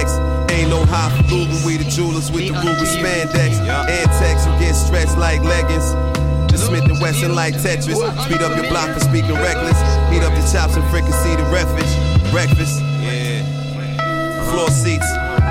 Ain't no highfalutin, we the jewelers with the ruby spandex. Antex, you get stretched like leggings. Just Smith and Wesson like Tetris. Speed up your block for speaking reckless. Heat up your chops and fricassee the breakfast. Breakfast, yeah. Floor seats.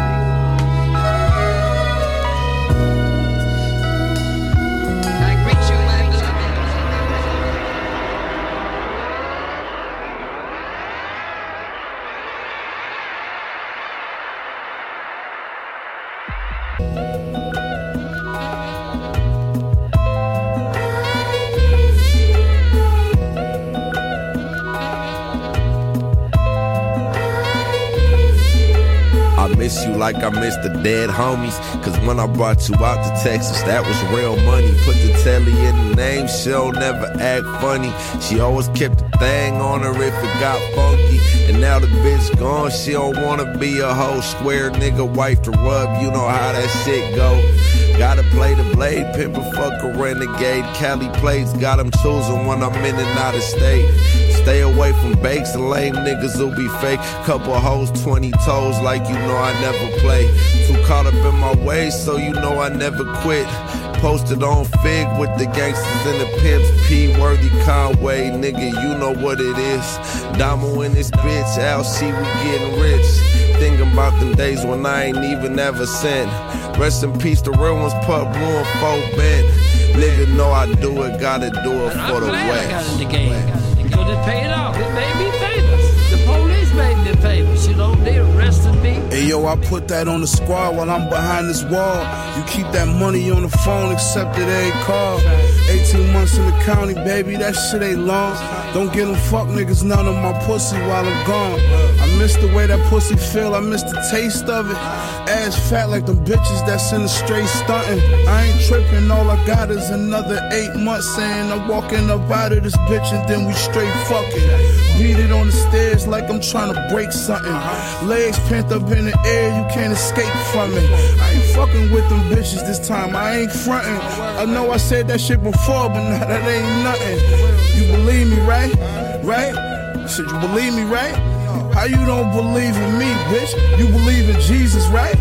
Miss you like I miss the dead homies. Cause when I brought you out to Texas, that was real money. Put the telly in the name, she'll never act funny. She always kept the thing on her if it got funky. And now the bitch gone, she don't wanna be a hoe. Square nigga, wife to rub, you know how that shit go. Gotta play the blade, pimp a fuck a renegade. Cali plates, got them choosing when I'm in and out of state. Stay away from bakes and lame niggas who be fake. Couple hoes, twenty toes, like you know I never play. Too caught up in my ways, so you know I never quit. Posted on Fig with the gangsters and the pimps. P-Worthy Conway, nigga, you know what it is. Damo in this bitch, L C, we getting rich. Thinking about them days when I ain't even ever sent. Rest in peace, the real ones, Pub Blue and Folk Bent. Nigga know I do it, gotta do it for the glad West. I got in the game. Because it paid off. It made me famous. The police made me famous. You know, they arrested me. Hey yo, I put that on the squad while I'm behind this wall. You keep that money on the phone, accepted every call. eighteen months in the county, baby, that shit ain't long. Don't get them fuck niggas none of my pussy while I'm gone. I miss the way that pussy feel, I miss the taste of it. Ass fat like them bitches that's in the straight stunting. I ain't tripping, all I got is another eight months saying I'm walking up out of this bitch and then we straight fucking. Beat it on the stairs like I'm trying to break something. Legs pent up in the air, you can't escape from it. I ain't fucking with them bitches this time, I ain't frontin'. I know I said that shit before, but now that ain't nothing. You believe me, right? Right? I said you believe me, right? How you don't believe in me, bitch? You believe in Jesus, right?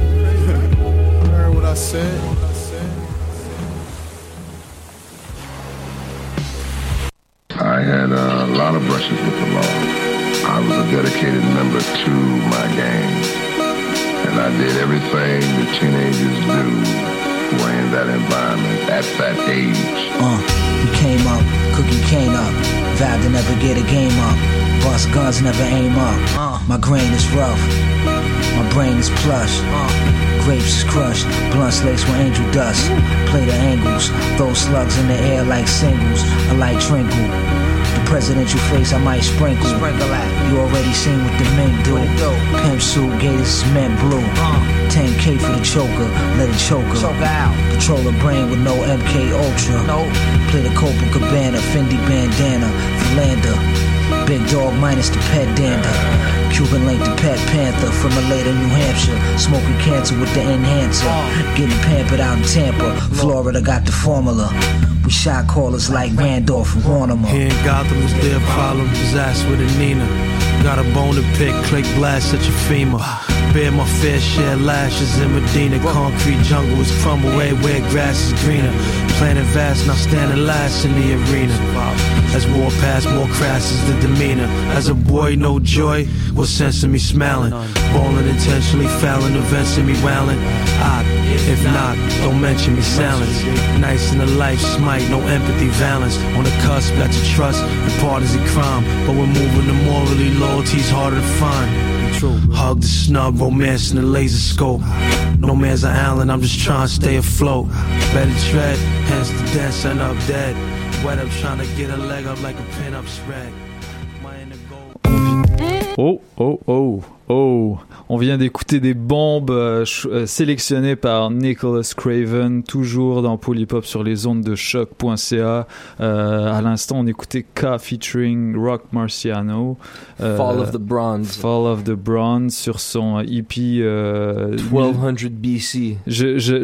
You heard what I said? I had a lot of brushes with the law. I was a dedicated member to my gang, and I did everything that teenagers do who are in that environment at that age. Uh, we came up, cookie came up, vowed to never get a game up. Bust guns, never aim up. Uh, my grain is rough, my brain is plush. Uh, grapes is crushed, blunts laced with angel dust. Play the angles, throw slugs in the air like singles. I like trinkle. The presidential face I might sprinkle. Sprinkle at. You already seen what the men do. Pimp suit, gators, men blue. Uh, ten K for the choker, let it choke her. Choke out. Control a brain with no M K Ultra. Nope. Play the Copacabana, Fendi bandana, Philander. Big dog minus the pet dander. Cuban link the pet panther from Maleta, New Hampshire. Smoking cancer with the enhancer. Getting pampered out in Tampa. Florida got the formula. We shot callers like Randolph and Hornimer. Here in Gotham is their problem. Disaster with a Nina. Got a bone to pick, click blast at your femur. Bear my fair share lashes in Medina. Concrete jungle is crumble everywhere grass is greener. Planet vast, now standing last in the arena. As war passed, more crass is the demeanor. As a boy, no joy, what sense of me smiling? Ballin' intentionally, fouling, events in me wailing. I, if not, don't mention me silence. Nice in the life, smite, no empathy, valence. On the cusp, got to trust, and partisan crime. But we're moving to morally, loyalty's harder to find. Hug the snub, romance in the laser scope. No man's an island, I'm just trying to stay afloat. Better tread, hence the dance end up dead. Wet up trying to get a leg up like a pin-up spread. Oh, oh, oh, oh. On vient d'écouter des bombes euh, euh, sélectionnées par Nicholas Craven, toujours dans Polypop sur les ondes de choc point c a. Euh, à l'instant, on écoutait K featuring Rock Marciano. Euh, Fall of the Bronze. Fall of the Bronze sur son E P... Euh, twelve hundred B C. Je, je, je,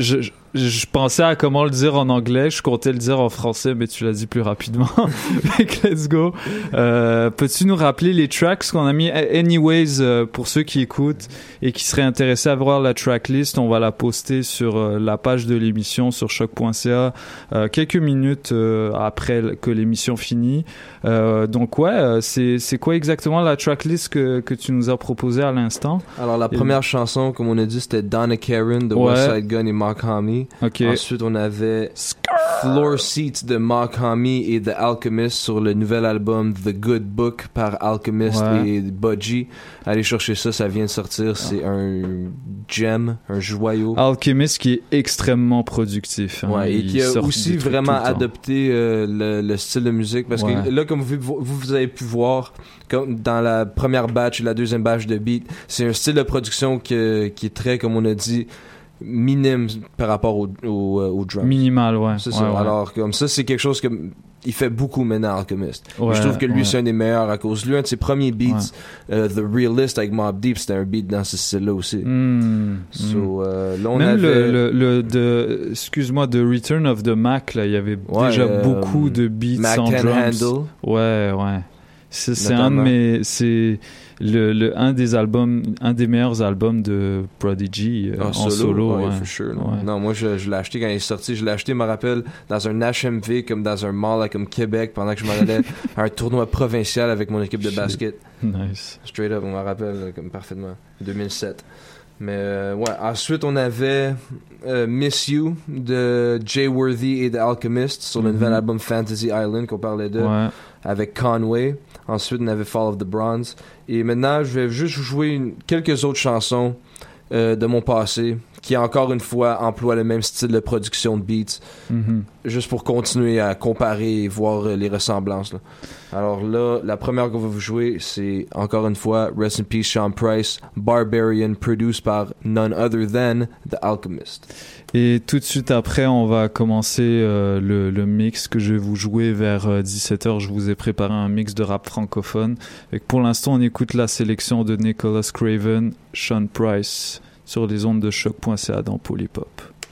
je pensais à comment le dire en anglais, je comptais le dire en français, mais tu l'as dit plus rapidement. Donc, let's go. Euh, peux-tu nous rappeler les tracks qu'on a mis? Anyways, euh, pour ceux qui écoutent et qui seraient intéressés à voir la tracklist, on va la poster sur euh, la page de l'émission sur choc point c a euh, quelques minutes euh, après que l'émission finit. Euh, donc ouais, euh, c'est, c'est quoi exactement la tracklist que, que tu nous as proposée à l'instant? Alors la première et... chanson, comme on a dit, c'était Donna Karen de ouais. West Side Gun et Mark Homme. Okay. Ensuite, on avait Floor Seats de Mark Homme et The Alchemist sur le nouvel album The Good Book par Alchemist ouais. et Budgie. Allez chercher ça, ça vient de sortir. C'est ah. un gem, un joyau. Alchemist qui est extrêmement productif. Hein. Ouais, et qui a aussi vraiment adopté euh, le, le style de musique. Parce ouais. que là, comme vous, vous, vous avez pu voir, comme dans la première batch et la deuxième batch de beat, c'est un style de production que, qui est très, comme on a dit, minime par rapport au, au, au drum. Minimal, ouais. C'est ouais, ça. Ouais. Alors, comme ça, c'est quelque chose que il fait beaucoup maintenant, Alchemist. Ouais, je trouve que lui, ouais. c'est un des meilleurs à cause de lui. Un de ses premiers beats, ouais. uh, The Realist avec Mobb Deep, c'était un beat dans ce style-là aussi. Mm, so, mm. Euh, là, on Même avait... le, le, le de, excuse-moi, The Return of the Mac, là, il y avait ouais, déjà euh, beaucoup de beats Mac sans Can drums. Handle. Ouais, ouais. C'est, c'est un de mes, c'est le, le un des albums, un des meilleurs albums de Prodigy euh, ah, en solo, solo. ouais, ouais. for sure, non. Ouais. non, moi je, je l'ai acheté quand il est sorti. Je l'ai acheté, je me rappelle, dans un H M V comme dans un mall comme Québec pendant que je m'en allais à un tournoi provincial avec mon équipe de basket. Nice. Straight up, on m'en rappelle comme parfaitement. deux mille sept. Mais euh, ouais, ensuite on avait euh, Miss You de Jay Worthy et The Alchemist sur le mm-hmm. nouvel album Fantasy Island qu'on parlait de ouais. avec Conway. Ensuite on avait Fall of the Bronze. Et maintenant je vais juste jouer une, quelques autres chansons euh, de mon passé qui encore une fois emploient le même style de production de beats mm-hmm. juste pour continuer à comparer et voir euh, les ressemblances là. Alors là, la première qu'on va vous jouer, c'est encore une fois Rest in Peace Sean Price, Barbarian, produced par none other than The Alchemist. Et tout de suite après, on va commencer euh, le, le mix que je vais vous jouer vers euh, dix-sept heures. Je vous ai préparé un mix de rap francophone. Et pour l'instant, on écoute la sélection de Nicholas Craven, Sean Price, sur les ondes de choc point c a dans Polypop.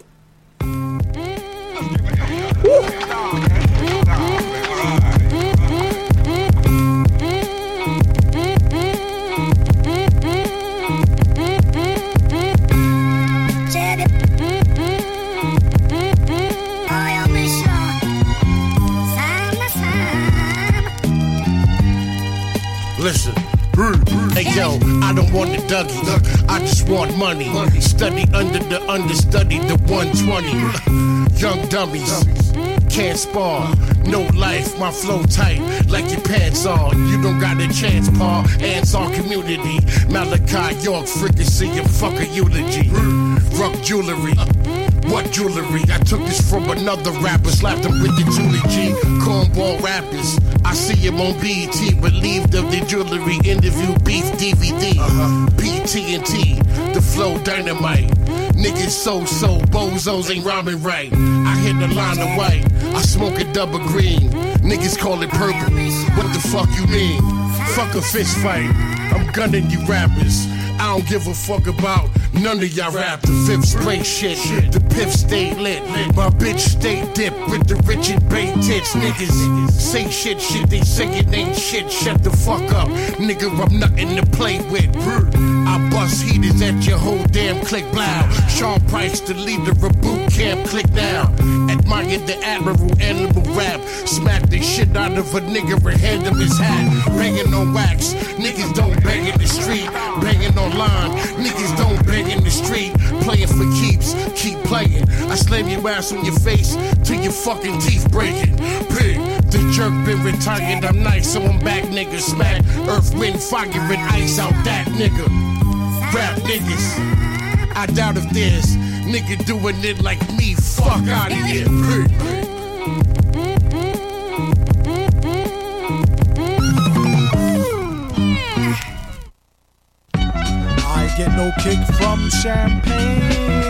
Listen, hey yo, I don't want the Dougie, I just want money. Study under the understudy, the one twenty. Young dummies, can't spar, no life, my flow tight, like your pants on. You don't got a chance, Paul, ants on community. Malachi York, fricassee, and fuck a eulogy. Rock jewelry. What jewelry? I took this from another rapper, slapped him with the Julie G. Cornball rappers, I see him on B E T, relieved of the jewelry. Interview beef D V D, uh-huh. P T and T, the flow dynamite. Niggas so-so, bozos ain't rhyming right. I hit the line of white, I smoke a double green. Niggas call it purple, what the fuck you mean? Fuck a fist fight, I'm gunning you rappers. I don't give a fuck about none of y'all rap. The fifth spray shit, the piff stay lit. My bitch stay dip with the Richard Bay tits. Niggas say shit, shit, they say it ain't shit. Shut the fuck up, nigga, I'm nothing to play with. I bust heaters at your whole damn click blow. Sean Price, the leader of boot camp, click now. Admire the admiral, animal rap. Smack the shit out of a nigga and hand him his hat. Banging on wax, niggas don't bang in the street. Banging on line, niggas don't bang in the street. Playing for keeps, keep playing. I slam your ass on your face till your fucking teeth breaking. Pig, the jerk been retired, I'm nice, so I'm back, nigga. Smack, earth, wind, fire, and ice out that nigga. Rap niggas, I doubt if there's nigga doing it like me. Fuck out of here. Pig. Get no kick from champagne.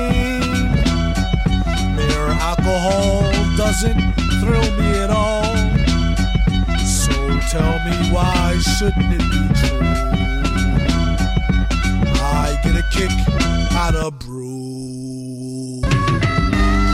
Mere alcohol doesn't thrill me at all. So tell me, why shouldn't it be true? I get a kick out of brew.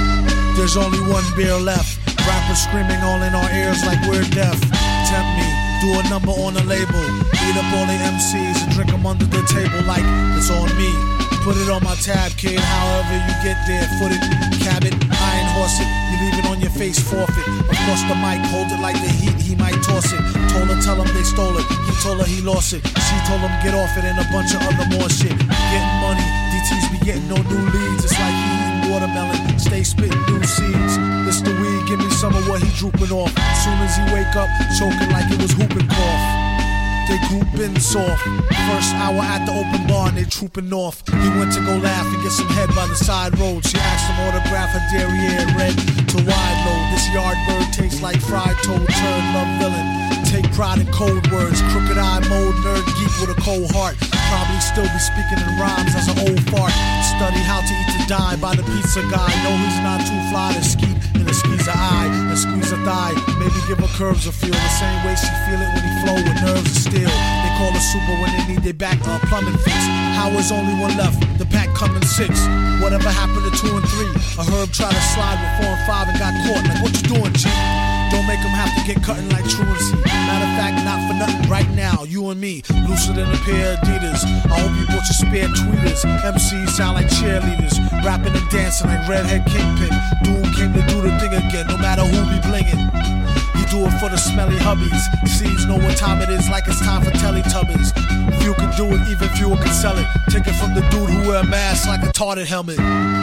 there's only one beer left. Rappers screaming all in our ears like we're deaf. Tempt me, do a number on a label. Eat up all the M Cs and drink them under the table like it's on me. Put it on my tab, kid, however you get there. Foot it, cab it, iron horse it. You leave it on your face, forfeit. Across the mic, hold it like the heat, he might toss it. Told her, tell him they stole it. He told her he lost it. She told him get off it and a bunch of other more shit. Getting money, D T's be getting no new leads. It's like he eating watermelon, stay spitting new seeds. It's the weed, give me some of what he drooping off. Soon as he wake up, choking like it was whooping cough. They groupin' soft. First hour at the open bar and they trooping off. He went to go laugh and get some head by the side road. She asked him autograph her derriere red to wide load. This yard bird tastes like fried toad, turd, love villain. Take pride in code words, crooked eye mode, nerd geek with a cold heart. Probably still be speaking in rhymes as an old fart. Study how to eat to die by the pizza guy. No, he's not too fly to skeet in a squeeze a eye and squeeze a thigh. Maybe give her curves a feel the same way she feel it when he flow with nerves of steel. They call her super when they need their back uh, plumbing fix. How is only one left? The pack coming six. Whatever happened to two and three? A herb tried to slide with four and five and got caught. Like what you doing, G? Don't make them have to get cutting like truancy. Matter of fact, not for nothing right now. You and me, looser than a pair of Adidas. I hope you bought your spare tweeters. M Cs sound like cheerleaders, rapping and dancing like Redhead Kingpin. Doom came to do the thing again, no matter who be blingin'. He do it for the smelly hubbies. Seeds know what time it is, like it's time for Teletubbies. Few can do it, even fewer can sell it. Take it from the dude who wear a mask like a tarted helmet.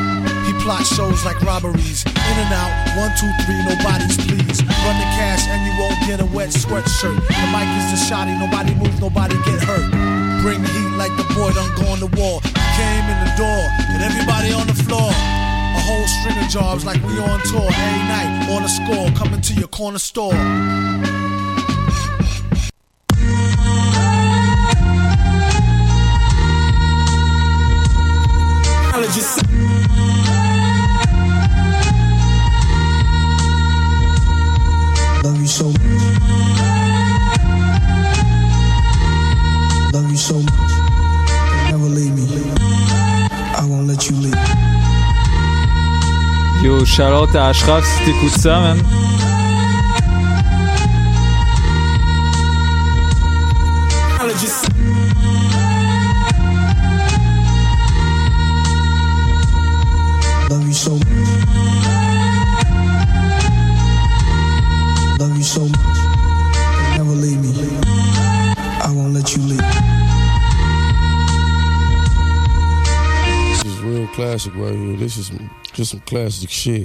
He plot shows like robberies. In and out, one, two, three, nobody's please. Run the cash and you won't get a wet sweatshirt. The mic is the shotty, nobody move, nobody get hurt. Bring heat like the boy done go on the wall. He came in the door and everybody on the floor. A whole string of jobs like we on tour. Every night, on the score, coming to your corner store. Just love you so much. Love you so much. Never leave me. I won't let you leave. Yo, shout out à Ashraf si t'écoutes ça, man. Love you so much. Love you so much. Never leave me. I won't let you leave. This is real classic right here. This is some, just some classic shit.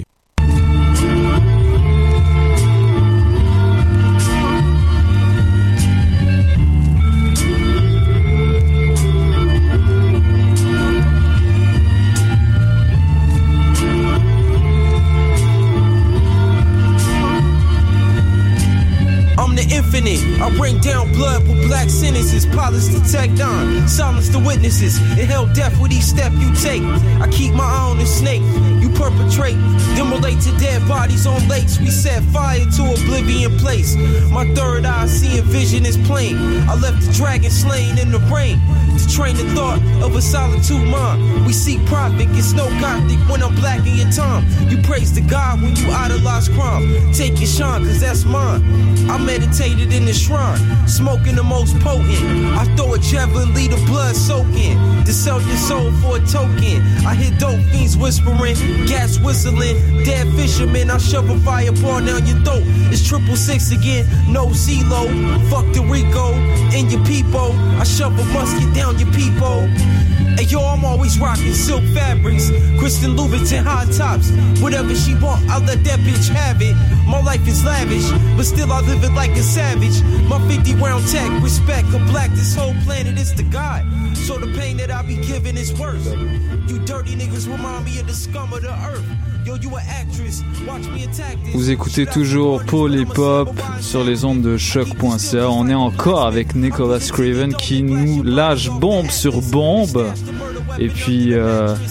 I bring down blood with black sentences, polish the tech down, silence the witnesses, inhale death with each step you take. I keep my eye on the snake, you perpetrate, then relate to dead bodies on lakes. We set fire to oblivion place. My third eye seeing vision is plain. I left the dragon slain in the rain to train the thought of a solitude mind. We seek profit, it's no gothic when I'm black in your time. You praise the God when you idolize crime. Take your shine, cause that's mine. I meditated in the shrine, smoking the most potent. I throw a javelin, lead the blood soaking, to sell your soul for a token. I hear dope fiends whispering, gas whistling, dead fishermen. I shove a fireball down your throat. It's triple six again, no CeeLo. Fuck the Rico in your peepo. I shove a musket down your peepo. Hey yo, I'm always rocking silk fabrics, Christian Louboutin high tops. Whatever she want, I'll let that bitch have it. My life is lavish, but still I live it like a savage. My fifty round tech, respect a black, this whole planet is the God. So the pain that I be giving is worse. You dirty niggas remind me of the scum of the earth. Yo, you an actress, watch me attack this. Vous écoutez toujours Polypop sur les ondes de choc point c a. On est encore avec Nicholas Craven qui nous lâche bombe sur bombe. Et puis euh,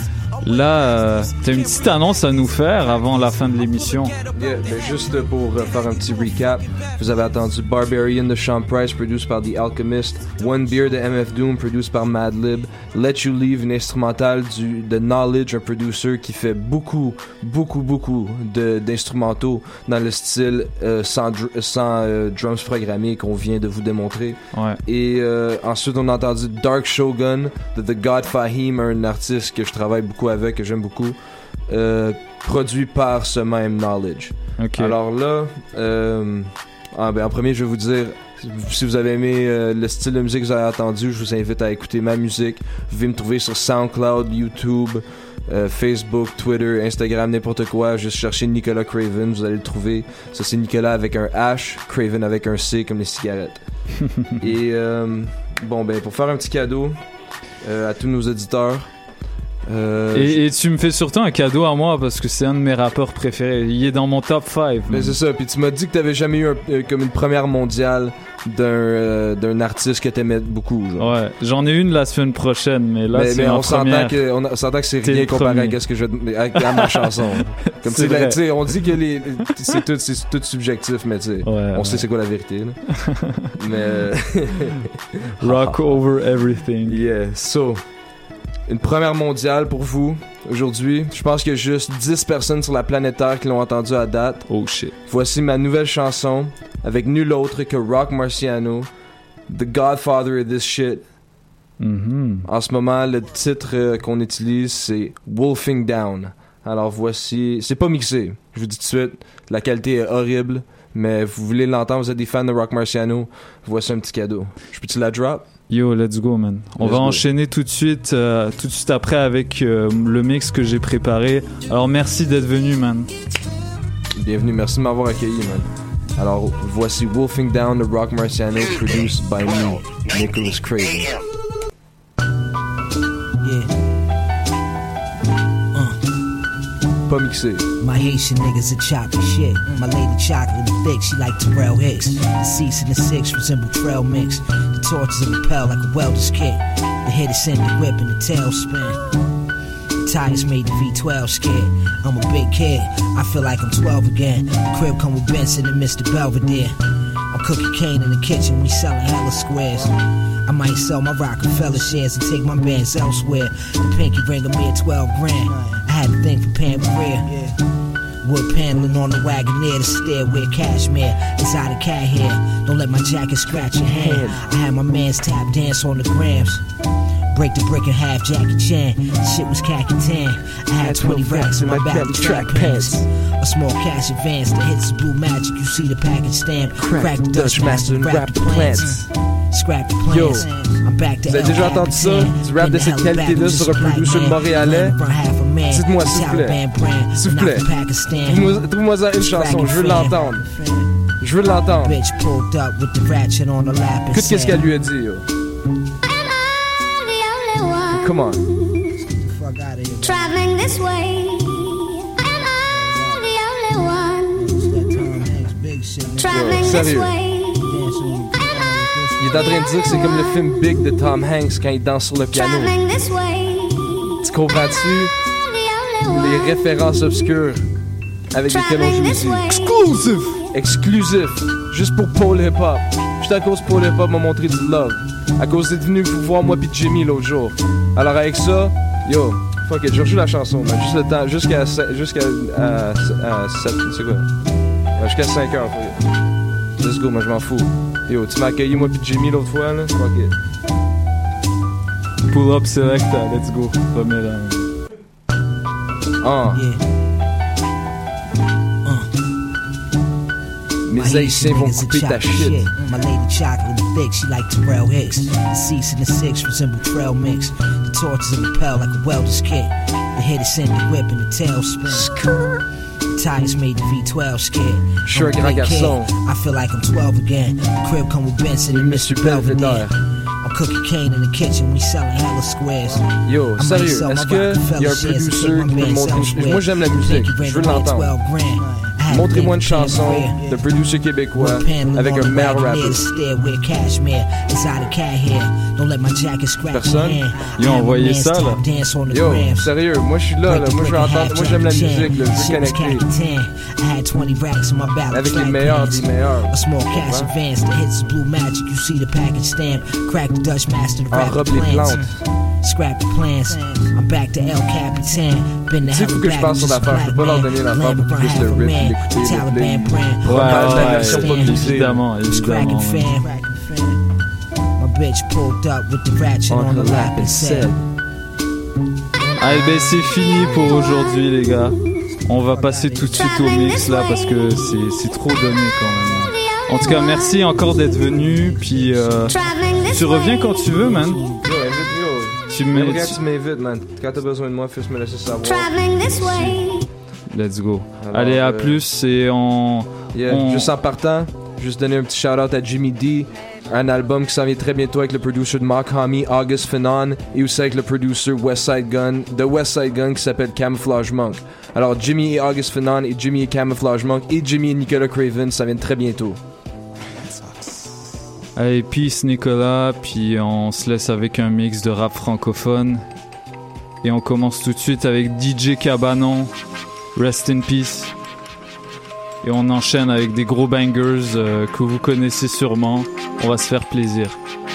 Là, euh, t'as une petite annonce à nous faire avant la fin de l'émission. Yeah, ben juste pour euh, faire un petit recap, vous avez entendu Barbarian de Sean Price, produced par The Alchemist, One Beer de M F Doom, produced par Madlib, Let You Leave, une instrumentale du, de Knowledge, un producer qui fait beaucoup, beaucoup, beaucoup de, d'instrumentaux dans le style euh, sans, dr- sans euh, drums programmés qu'on vient de vous démontrer. Ouais. Et euh, ensuite, on a entendu Dark Shogun de The God Fahim, un artiste que je travaille beaucoup avec, que j'aime beaucoup, euh, produit par ce même Knowledge. Okay. Alors là, euh, ah ben en premier, je vais vous dire, si vous avez aimé euh, le style de musique que vous avez entendu, je vous invite à écouter ma musique. Vous pouvez me trouver sur SoundCloud, YouTube, euh, Facebook, Twitter, Instagram, n'importe quoi. Juste chercher Nicolas Craven, vous allez le trouver. Ça, c'est Nicolas avec un H, Craven avec un C, comme les cigarettes. Et euh, bon, ben pour faire un petit cadeau euh, à tous nos auditeurs. Euh, et, et tu me fais surtout un cadeau à moi parce que c'est un de mes rappeurs préférés. Il est dans mon top cinq. Ben c'est ça. Puis tu m'as dit que t'avais jamais eu un, euh, comme une première mondiale d'un euh, d'un artiste que t'aimais beaucoup. Genre. Ouais, j'en ai une la semaine prochaine, mais là mais, c'est mais ma on première. s'entend que on, a, on s'entend que c'est T'es rien comparé premier. à ce que je à, à ma chanson. Comme C'est tu vrai. sais, on dit que les c'est tout c'est tout subjectif, mais tu sais, Ouais, on ouais. sait c'est quoi la vérité. Là. mais Rock over everything. Yeah. So, une première mondiale pour vous aujourd'hui. Je pense qu'il y a juste dix personnes sur la planète Terre qui l'ont entendu à date. Oh shit. Voici ma nouvelle chanson avec nul autre que Rock Marciano, the godfather of this shit. Mm-hmm. En ce moment, le titre euh, qu'on utilise, c'est Wolfing Down. Alors voici, c'est pas mixé. Je vous dis tout de suite, la qualité est horrible, mais vous voulez l'entendre, vous êtes des fans de Rock Marciano, voici un petit cadeau. Je peux-tu la drop? Yo, let's go, man. On Let's va go. enchaîner tout de suite, euh, tout de suite après avec euh, le mix que j'ai préparé. Alors merci d'être venu, man. Bienvenue, merci de m'avoir accueilli, man. Alors voici Wolfing Down de Rock Marciano, produced by me, Nicholas Craven. Yeah. Pas mixé. My Haitian niggas are chopping shit. My lady chocolate and thick, she like Terrell Hicks. The seats in the six resemble trail mix. The torches in the pell like a welder's kit. The head is sent the whip and the tail spin. The tires made the V twelve scared. I'm a big kid, I feel like I'm twelve again. The crib come with Benson and Mister Belvedere. I'm cooking cane in the kitchen, we selling hella squares. I might sell my Rockefeller shares and take my bands elsewhere. The pinky ring a mere twelve grand. I had a thing for Pamperia. Wood paneling on the Wagoneer, the stairway cashmere. Exotic cat hair, don't let my jacket scratch your hand. I had my man's tap dance on the grams. Break the brick in half, Jackie Chan. Shit was khaki tan. I had twenty racks in my Bally track pants. A small cash advance, the hits is blue magic. You see the package stamp. Crack the Dutch master and rap the plants. Scrap the Yo, plans. I'm back to vous avez déjà entendu ça? Du rap de cette qualité-là sur un producer montréalais? Dites-moi s'il vous plaît. S'il vous plaît. Trouve-moi- Trouve-moi ça une chanson, je veux l'entendre. Je veux l'entendre. Bitch pulled up with the ratchet on the lap and Écoute qu'est-ce said, qu'elle lui a dit, yo. Come on. Traveling this way, am I the only one? Traveling this sérieux. way, Il est en train de dire que c'est comme le film Big de Tom Hanks quand il danse sur le piano. traveling this way, Tu comprends-tu les références obscures avec lesquelles on joue ici? Exclusif! Exclusif! Juste pour Paul Hip Hop. Juste à cause Paul Hip Hop m'a montré du love. À cause d'être venu vous voir moi pis Jimmy l'autre jour. Alors avec ça, yo, fuck it, je rejoue la chanson, man. Juste le temps, jusqu'à jusqu'à à, à sept, c'est quoi? Ouais, jusqu'à cinq heures, fuck it. Let's go, moi je m'en fous. Yo, tu m'as accueilli moi pis Jimmy l'autre fois, là? Fuck it. Pull up selecta, let's go. Remets-la. Ah. Mes haïtiens vont couper ta shit. My lady chocolate and thick, she like Terrell Hicks. The seats in the six resemble trail mix. The torches in the pell like a welder's kit. The head is sent the whip and the tail spin. The tires made the V twelve scared. Je suis un grand garçon. I feel like I'm twelve again. The crib come with Benson and Mister Belvedere. I'm cooking cane in the kitchen, we selling hella squares. Yo, sérieux, est-ce qu'il y a un producer qui peut me montrer... Moi, j'aime la musique, je veux l'entendre. Montrez-moi une chanson de producer québécois avec un male rapper. Personne? Ils ont envoyé ça, là. Yo, sérieux, moi je suis là, là. Moi je veux entendre, moi j'aime la musique, là. Je veux connecter. Avec les meilleurs des meilleurs. Enrobe les plantes. Scrap the plans. I'm back to El Capitan. Been to Tu sais, faut que je passe sur l'affaire. Je peux pas leur donner l'affaire pour qu'ils puissent le riff, l'écouter, le play. Ouais, ouais, ouais, évidemment, évidemment. My bitch pulled up with the ratchet on the lap and said. Allez, ben c'est fini pour aujourd'hui, les gars. On va passer tout de suite au mix là parce que c'est, c'est trop donné quand même. En tout cas, merci encore d'être venu. Puis euh, tu reviens quand tu veux, man. Tu m'invites, tu m'invites, man. Quand t'as besoin de moi, fais me laisser savoir. Let's go. Alors, allez, à euh, plus et on... Yeah, on... Juste en partant, juste donner un petit shout-out à Jimmy D. Un album qui s'en vient très bientôt avec le producer de Mark Homme, August Fanon, et aussi avec le producer Westside Gun, de Westside Gun qui s'appelle Camouflage Monk. Alors Jimmy et August Fanon et Jimmy et Camouflage Monk et Jimmy et Nicolas Craven, ça vient très bientôt. Allez, peace Nicolas, puis on se laisse avec un mix de rap francophone. Et on commence tout de suite avec D J Cabanon, Rest in Peace. Et on enchaîne avec des gros bangers euh, que vous connaissez sûrement. On va se faire plaisir.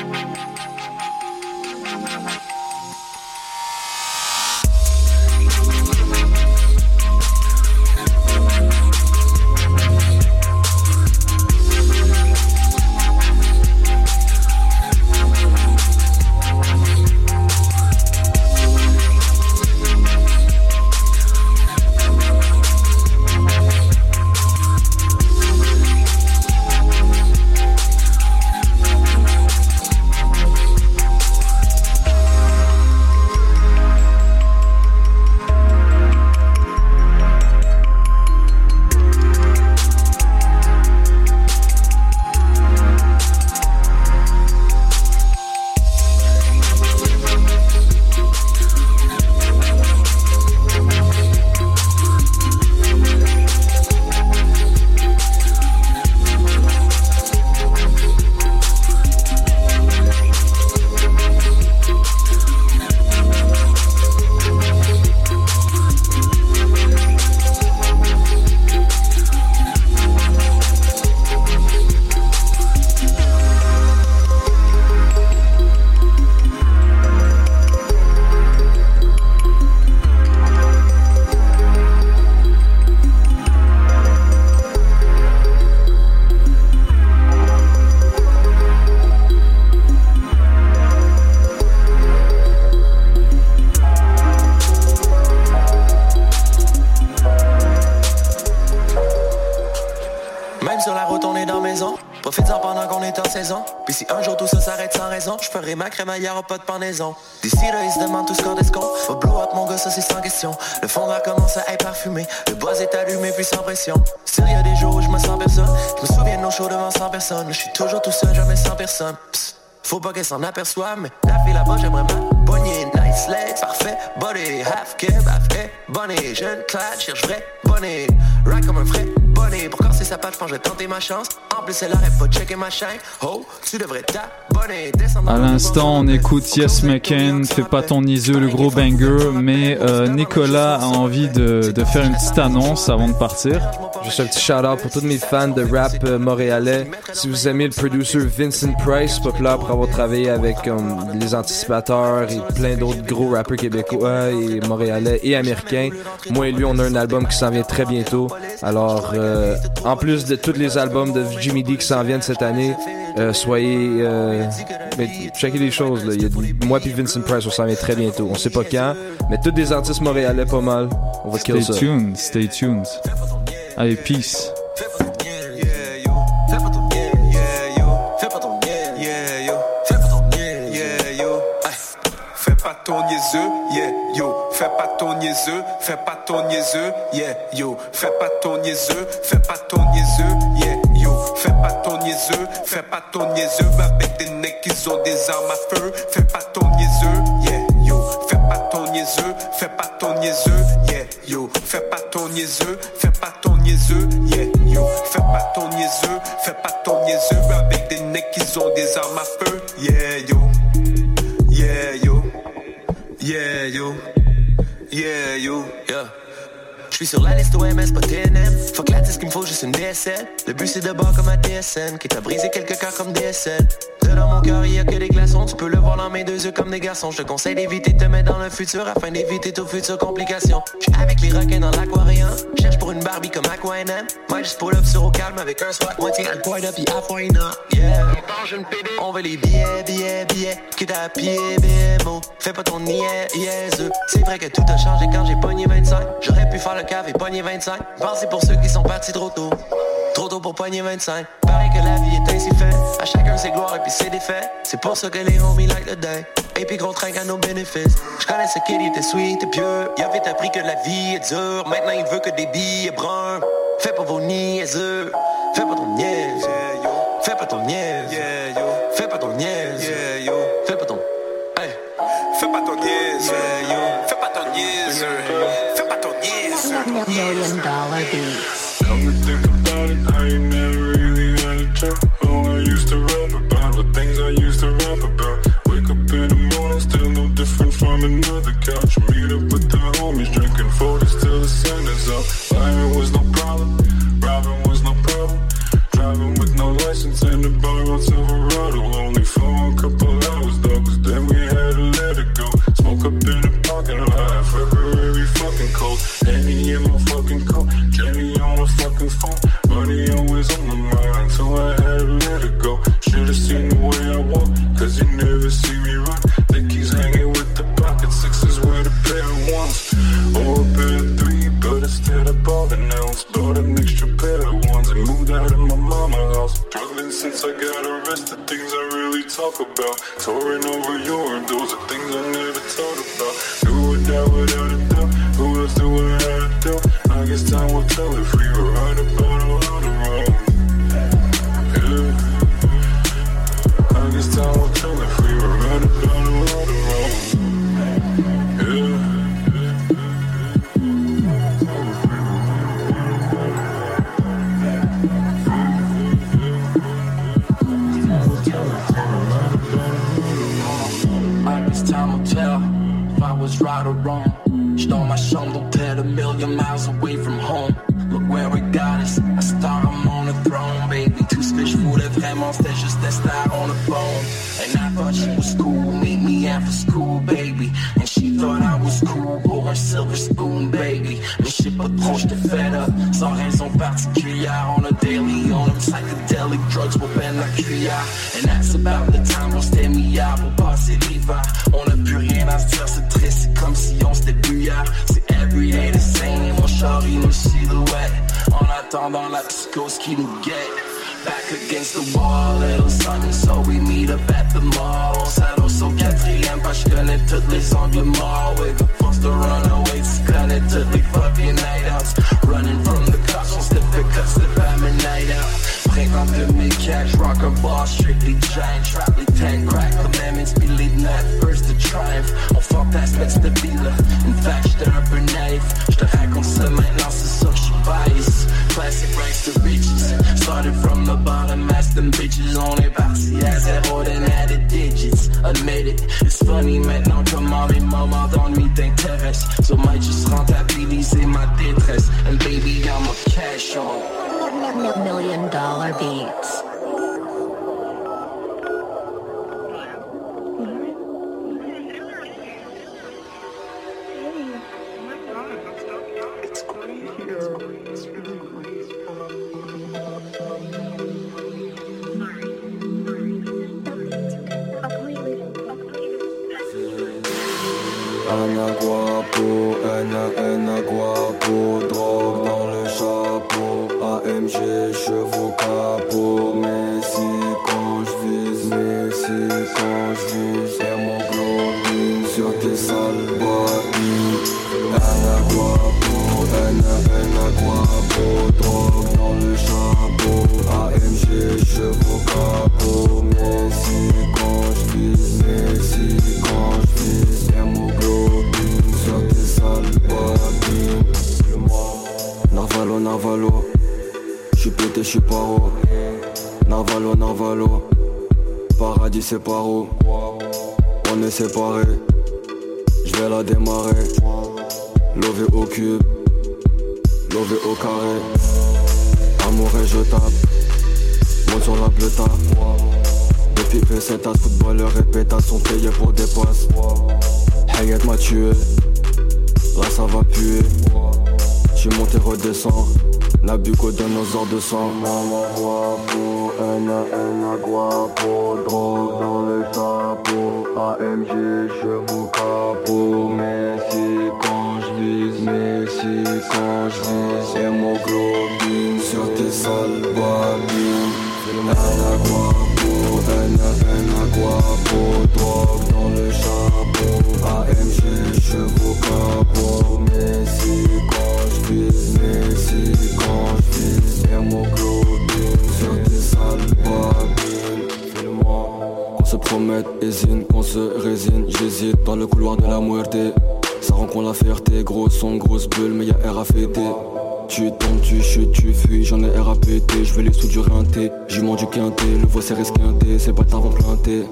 Je ferai ma crémaillère au pas de pendaison. D'ici là, ils se demandent tout ce qu'on descompte. Au blow up, mon gars, ça c'est sans question. Le fond de l'air commence à être parfumé. Le bois est allumé, puis sans pression. S'il y a des jours où je me sens personne, je me souviens de nos shows devant cent personnes. Je suis toujours tout seul, jamais sans personne. Psst, faut pas qu'elle s'en aperçoive, mais la fille là-bas, j'aimerais ma poignée. Nice legs, parfait, body, half keb, half hey, bonnet. Jeune clad, cherche vrai, bonnet. Ride comme un vrai bonnet. Pour casser sa patte, je pense que je vais tenter ma chance. En plus, elle arrête pas de checker ma chaîne. Oh, tu devrais t'abonner. À l'instant, on écoute Yes McCain, Fais pas ton iseux, le gros banger. Mais euh, Nicolas a envie de, de faire une petite annonce avant de partir. Juste un petit shout-out pour tous mes fans de rap euh, montréalais. Si vous aimez le producer Vincent Price, populaire pour avoir travaillé avec um, les Anticipateurs et plein d'autres gros rappeurs québécois et montréalais et américains, moi et lui, on a un album qui s'en vient très bientôt. Alors, euh, en plus de tous les albums de Jimmy D qui s'en viennent cette année, euh, soyez... Euh, mais checkez les choses, là. Il y a, moi puis Vincent Price, on s'en vient très bientôt. On sait pas quand, mais tous des artistes montréalais pas mal. On va kill ça. Stay tuned, stay tuned. Allez, peace. Ton niaiseux, yeah, yo, fais pas ton niaiseux, fais pas ton niaiseux, yeah, yo, fais pas ton niaiseux, fais pas ton niaiseux, yeah, yo, fais pas ton niaiseux, fais pas ton niaiseux, avec des necks qui ont des armes à feu, fais pas ton niaiseux, yeah, yo, fais pas ton niaiseux, fais pas ton niaiseux, yeah, yo, fais pas ton niaiseux, fais pas ton niaiseux, yo, fais pas ton niaiseux, fais pas ton niaiseux avec des necks qui ont des armes à feu. Yeah yo, yeah yo, yeah yo, yeah yo, yeah. J'suis sur la liste O M S, pas T N M. Fuck la disque, il me faut juste une D S L. Le but c'est de bord comme un D S N, qui t'a brisé quelques cœurs comme D S L. Dans mon cœur, y'a que des glaçons. Tu peux le voir dans mes deux yeux comme des garçons. Je te conseille d'éviter de te mettre dans le futur afin d'éviter toutes futures complications. J'suis avec les requins dans l'aquarium. Cherche pour une Barbie comme Aqua N M. Moi, j'suis pull up sur au calme avec un swat. Moitié à point up, y'a foina. Yeah. On veut les billets, billets, billets. Que t'as pied, B M O. Fais pas ton niais, yes. C'est vrai que tout a changé quand j'ai pogné vingt-cinq. J'aurais pu faire le cave et pogner vingt-cinq. Pensez pour ceux qui sont partis trop tôt. Trop tôt pour pogner vingt-cinq. Pareil que la vie est ainsi faite. À chacun ses gloires et puis ses défaites. C'est pour ça que les homies like the day. Et puis gros train à nos bénéfices. J'connais ce kid, il était sweet et pieux. Il avait appris que la vie est dure. Maintenant il veut que des billets bruns. Fais pas vos niaiseux. Fais pas ton niaise. Fais pas ton niaise. Fais pas ton niaise. Fais pas ton. Hey. Fais pas ton niaise. Fais pas ton niaise. Fais pas ton niaise. Million dollar beats. Come to think about it, I ain't never really had a job. All I used to rap about the things I used to rap about. Wake up in the morning, still no different from another couch. Meet up with the homies, drinking forties till the sun is up. Lying was no problem, robbing was no problem. Driving with no license in the bar on Silverado. Only for a couple hours though, cause then we had to let it go. Smoke up in the parking lot, February fucking cold. Henny in my fucking coat, Jenny on my fucking phone. Money always on my mind, so I had to let it go. Should've seen the way I walk, cause you never see me run. Think he's hanging with the pocket sixes with a pair of ones. Or a pair of three, but instead I bought an ounce. Bought an extra pair of ones and moved out of my mama's house. Struggling since I got arrested, things I really talk about. Touring over Europe, those are things I never thought about. Do it now without a doubt, who else do I have to do? I guess time will tell if we were right about or right wrong. Yeah. I guess time will tell if we were right about or right wrong. Yeah. I guess time will tell if I was right or wrong. J'dans ma chambre d'hôtel a million miles away from home. Look where it got us, a star, I'm on the throne, baby. Tout ce que je voulais vraiment, c'était juste des stars on the phone. And I thought she was cool, meet me after school, baby. And she thought I was cool, pour un silver spoon, baby. Mais je sais pas trop, j'étais fed up, sans raison particulière. On a daily, on them psychedelic drugs pour peine la cuillère. And that's about the time on s'était mis à pour passer l'hiver. On a plus rien à se dire, c'est triste, c'est comme si on s'était bu hier. C'est everyday the same, et mon char il nous silhouette. En attendant la psychose qui nous guette. Back against the wall, little something, so we meet up at the mall. On s'adosse au quatrième, parce que je connais tous les angles morts. We're the forced to run away, tu connais toutes les fucking night outs. Running from the cops, on slip the cuts, slip à my night out. Printemps deux mille quatre, j'rock un bar, strictly giant. Trap les ten crack commandments, be leading that first to triumph. On fantasme, mais c'était là. In fact, j'étais un peu naïf. J'te raconte ça maintenant, c'est sûr que j'suis biased. Classic rags to riches, started from the bottom, ask them bitches. On est parti à zéro, then added digits. Admit it, it's funny maintenant comment les moments d'ennui t'intéressent. So might just rentabiliser ma détresse. And baby, I'm a cash on. Million dollar beats. Anna Guapo, Anna, Anna Guapo, drogue dans le chapeau, A M G, chevaux capot, Messi quand j'vise, Messi quand j'vise, hémoglobine sur tes sales boîtes. Anna Guapo, Anna, Anna Guapo, drogue dans le chapeau, A M G, chevaux capot, Messi quand j'vise, Messi quand j'vise, hémoglobine sur tes sales boîtes. Narvalo, Narvalo, J'suis pété, j'suis paro. Navalo, Navalo. Paradis c'est par où? On est séparés. J'vais la démarrer. Lové au cube. Lové au carré. Amour et je tape. Monte sur la bleuta. Depuis P sept as, footballeurs et pétasses sont payés pour des passes. Hayat m'a tué. Là ça va puer. J'suis monté, redescends. Nabucco donne nos ordres de sang. Maman guapo, N N guapo. Drogue dans le chapeau. A M G, chevaux capot. Messi quand j'vise, Messi quand j'vise. Hémoglobine sur tes sales babines. N N guapo, N N guapo. Drogue dans le chapeau. A M G, chevaux capot. Messi quand j'vise, Messi quand j'vise. Hémoglobine sur tes sales babines. Fais-le-moi. Qu'on se promette, hésine, qu'on se résine. J'hésite dans le couloir de la muerte. Ça rend qu'on la fierté, gros son, grosse bulle, mais y'a R à fêter. Tu tombes, tu chutes, tu fuis, j'en ai R à péter. J'vais les sous du rinté, j'y monte du quinté. Le voix c'est resquinté, c'est pas tard vont planter.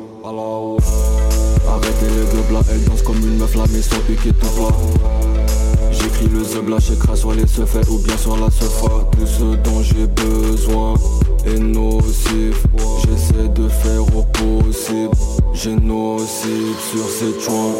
Arrêtez les gueules là, elle danse comme une meuf, la maison piquée tout plat. J'écris le zeub là, j'écrase sur les seufs ou bien sur la sefa. Tout ce dont j'ai besoin est nocif. J'essaie de faire au possible. Génocide sur ces joints.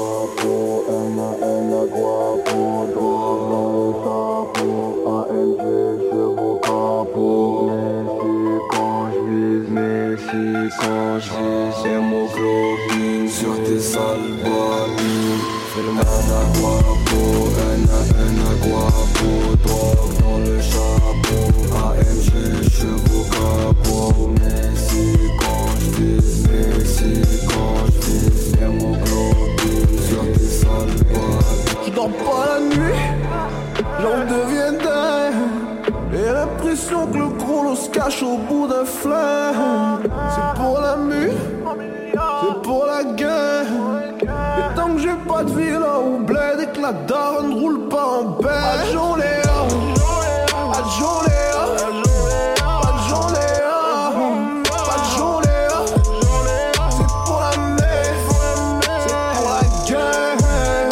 N N guapo, drogue dans le chapeau. A M G, chevaux capot. Messi quand j'vise, Messi quand j'vise. Hémoglobine sur tes sales babines. N N guapo, N N guapo. Drogue dans le chapeau. A M G, chevaux capot. Messi quand j'vise, Messi quand j'vise. Hémoglobine sur tes sales babines. J'dors pas la nuit, j'en deviens dingue. J'ai l'impression que le gros lot se cache au bout d'un flingue. C'est pour la mue, c'est pour la guerre. Et tant que j'ai pas de vie là où bled et que la daronne roule pas en bête. Adjon Léa, Adjon Léa, Adjon Léa, Adjon Léa. C'est pour la mer, c'est pour la guerre.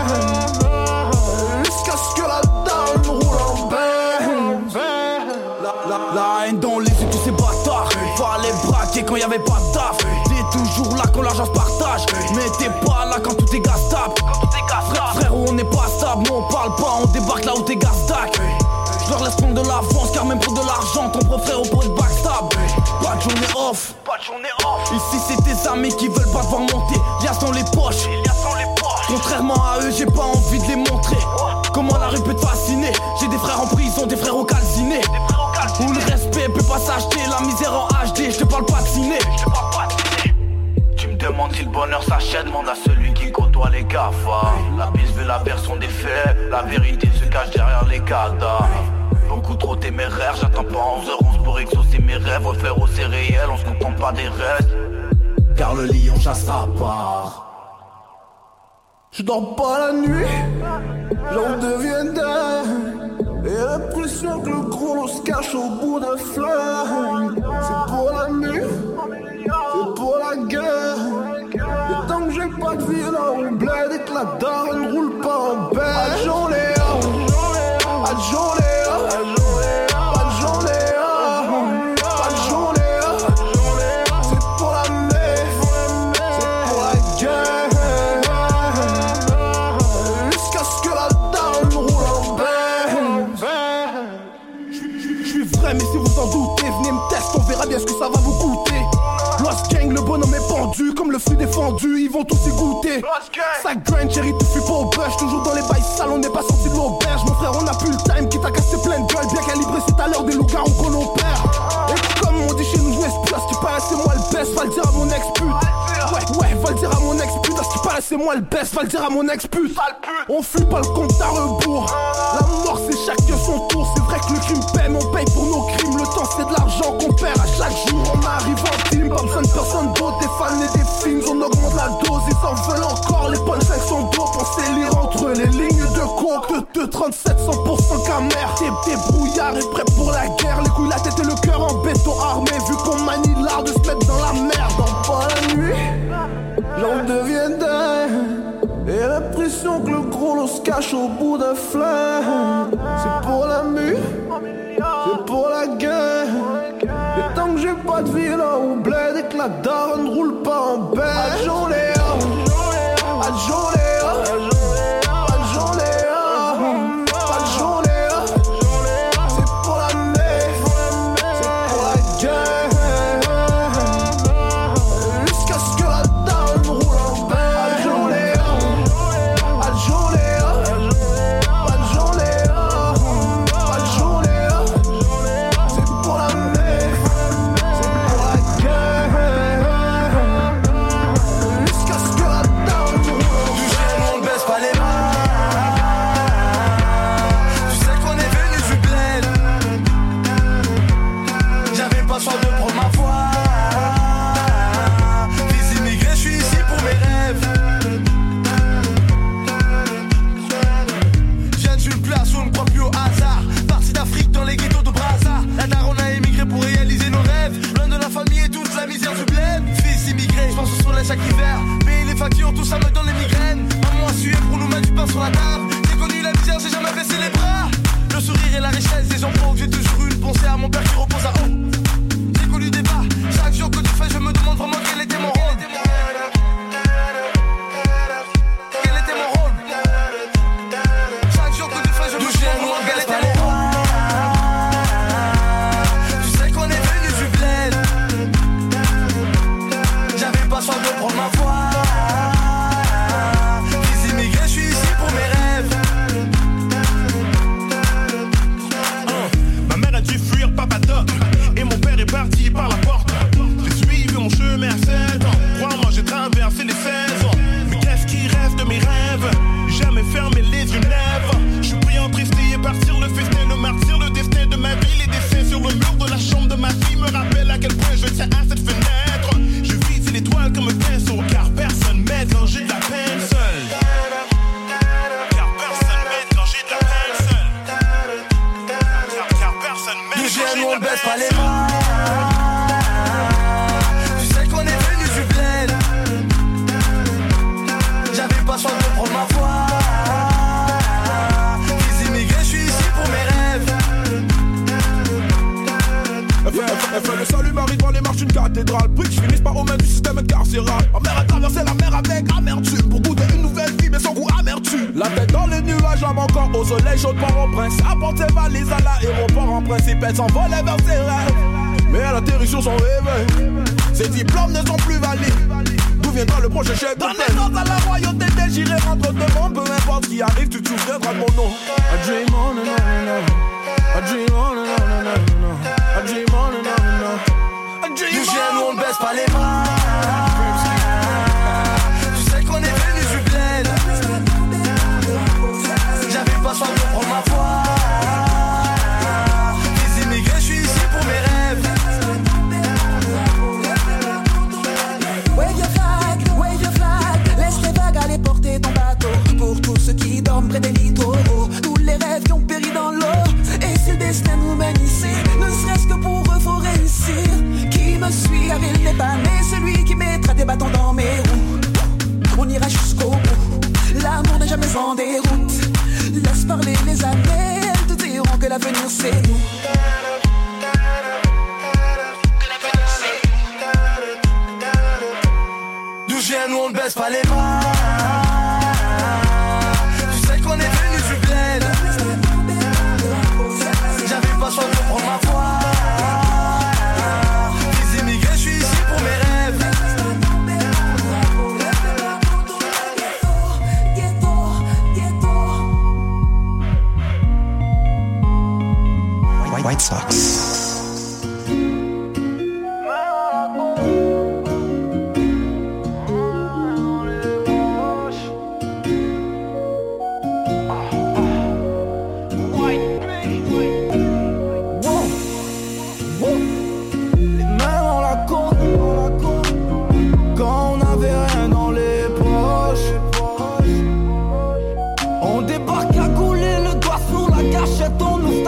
Jusqu'à ce que la daronne roule en bête. La, la, la haine dans les yeux de tous ces bâtards. Fallait braquer quand y'avait pas de taf. T'es toujours là quand l'argent se partage. Mais t'es pas là quand tout est gastable. Frère, frère, on n'est pas stable. Nous on parle pas, on débarque là où t'es gasdac. Je leur laisse prendre de l'avance car même pour de l'argent ton propre frère au pot de backstab. Pas de journée off, pas de journée off. Ici c'est tes amis qui veulent pas te voir monter. Lias dans les poches, contrairement à eux j'ai pas envie de les montrer. Comment la rue peut te fasciner. J'ai des frères en prison, des frères au calciné. Où le respect peut pas s'acheter. La misère en H D, je te parle pas de ciné. Tu me demandes si le bonheur s'achète. Demande à celui qui côtoie les GAFA. La piste veut la version des faits. La vérité se cache derrière les cadavres. Beaucoup trop téméraire, j'attends pas onze heures onze pour exaucer mes rêves. Refaire au c'est réel, on se contente pas des restes. Car le lion chassera pas. Je dors pas la nuit, j'en deviens dingue. Et l'impression que le gros lot se cache au bout d'un flingue. C'est pour la nuit, c'est pour la guerre. Et tant que j'ai pas de vie là on bled et que la daronne roule pas en bête. Adjon Léa, Adjon Léa, Adjon Léa, Adjon Léa. C'est pour la mer, c'est pour la guerre. Jusqu'à ce que la daronne roule en bête. J'suis vrai mais si vous en doutez, venez me tester, on verra bien ce que ça va vous coûter. Lost Gang, le bonhomme est pendu, comme le fruit défendu, ils vont tous y goûter. Ça grind, chérie, tout fuit pas au bush, toujours dans les bails sales, on n'est pas sorti de l'auberge. Mon frère, on a plus le time, qui t'a cassé plein de gueule, bien calibré, c'est à l'heure des loups-garous qu'on opère. Et comme on dit chez nous, jouer ce place, qui paraît c'est moi le best, va le dire à mon ex-pute. Ouais, ouais, va le dire à mon ex-pute, à ce qui paraît c'est moi le best, va le dire à mon ex-pute. On fuit pas le compte à rebours, la mort c'est chacun son tour. C'est vrai que le crime paie, mais on paye pour nos crimes. Le temps c'est de l'argent qu'on perd à chaque jour. On arrive en team, pas besoin de personne d'autre. Des fans et des films, on augmente la dose. Ils en veulent encore, les punchlines sont dope. On sait lire entre les lignes de coke. De, de trente cinquante-sept, cent pour cent camère. T'es, t'es brouillard et prêt pour la guerre. Les couilles, la tête et le cœur en béton armé. Vu qu'on manie l'art de se mettre dans la merde. Dans pas la nuit, l'on devient dingue. Et l'impression que le gros l'on se cache au bout d'un flingue. C'est pour la mue, c'est pour la guerre. Et tant que j'ai pas de vie là au bled et que la daronne ne roule pas en bête. Adjon Léa, Adjon Léa, Adjon Léa, Adjon Léa. C'est pour la mer, c'est pour la guerre. Jusqu'à ce que la daronne roule en bête. Adjon Léa, Adjon Léa, Adjon Léa, Adjon Léa. C'est pour la mer, c'est pour la guerre. Jusqu'à ce que la daronne roule en bête. Du ciel on baisse pas les bras. Tu sais qu'on est venu du bled. J'avais pas soin de prendre ma voix. Les immigrés, je suis ici pour mes rêves. Je viens d'une place où on ne croit plus au hasard. Parti d'Afrique dans les ghettos de Brazza. La daronne a émigré pour réaliser nos rêves. Loin de la famille et toute la misère du bled. Fils immigré, je pense au soleil chaque hiver. Payer les factures, tout ça me donne les migraines. Maman a sué pour nous mettre du pain sur la table. J'ai connu la misère, j'ai jamais baissé les bras. Le sourire et la richesse des gens pauvres. J'ai toujours eu une pensée à mon père qui repose à haut. J'ai connu des bas. Chaque jour que tu fais, je me demande vraiment quel était mon rôle. Quel était mon rôle? Chaque jour que tu fais, je me demande quel était mon rôle. Tu sais qu'on est venu du bled. J'avais pas soin de prendre ma voix. Les immigrés, je suis ici pour mes rêves. Ma mère a dû fuir Papa Doc. Et mon père est parti par la porte. J'ai suivi mon chemin à sept ans. Crois-moi, j'ai traversé les seize ans. Mais qu'est-ce qui reste de mes rêves? Jamais fermer les yeux neufs. Je suis pris en tristesse et partir le festin. Le martyr, le destin de ma vie. Les dessins sur le mur de la chambre de ma fille me rappellent à quel point je tiens à cette fenêtre. Je vise l'étoile comme un pinceau. Car personne m'aide quand j'ai de la peine seule. Car personne m'aide quand j'ai de la peine seule. Car, car personne m'aide Du quand j'ai ciel, de on la baisse pas peine les seule. bras. Tu sais qu'on est venu du bled. J'avais pas soin de prendre ma voix. Les immigrés, je suis ici pour mes rêves. Elle fait, elle fait- elle fait le salut Marie devant les marches d'une cathédrale. Puis que je finisse par aux mains du système carcéral. Ma mère a traversé la mer avec amertume pour goûter une nouvelle vie, mais sans goût amertume. La tête dans les nuages, l'âme encore au soleil, chaude par au prince. Apporte ses valises à l'aéroport, en principe elle s'envolait vers ses rêves. Mais elle atterrit sur son réveil. Ses diplômes ne sont plus valides. D'où viendra le prochain chef de paix? Dans à la royauté des j'irai entre deux mondes. Peu importe ce qui arrive, tu te souviendras de mon nom. I dream on and on and on. I dream on and on and on and on. I dream on and on and on. I dream Du ciel, on. on baisse pas les bras. Tu sais qu'on est venu du bled. J'avais pas soin de prendre ma voix. Les immigrés, je suis ici pour mes rêves. Wave your flag, wave your flag. Laisse les vagues aller porter ton bateau. Pour tous ceux qui dorment près des littoraux. Tous les rêves qui ont péri dans l'eau. Et si le destin nous mène ici, ne serait-ce que pour eux faut réussir. Qui me suit car il n'est pas né. Celui qui mettra des bâtons dans mes roues. On ira jusqu'au bout. L'amour n'est jamais en déroute. Laisse parler les années. Elles te diront que l'avenir c'est nous. Du ciel, nous on ne baisse pas les bras. Tu sais qu'on est venu du bled. J'avais pas soin de prendre ma voix. Les immigrés, je suis ici pour mes rêves. White Sox.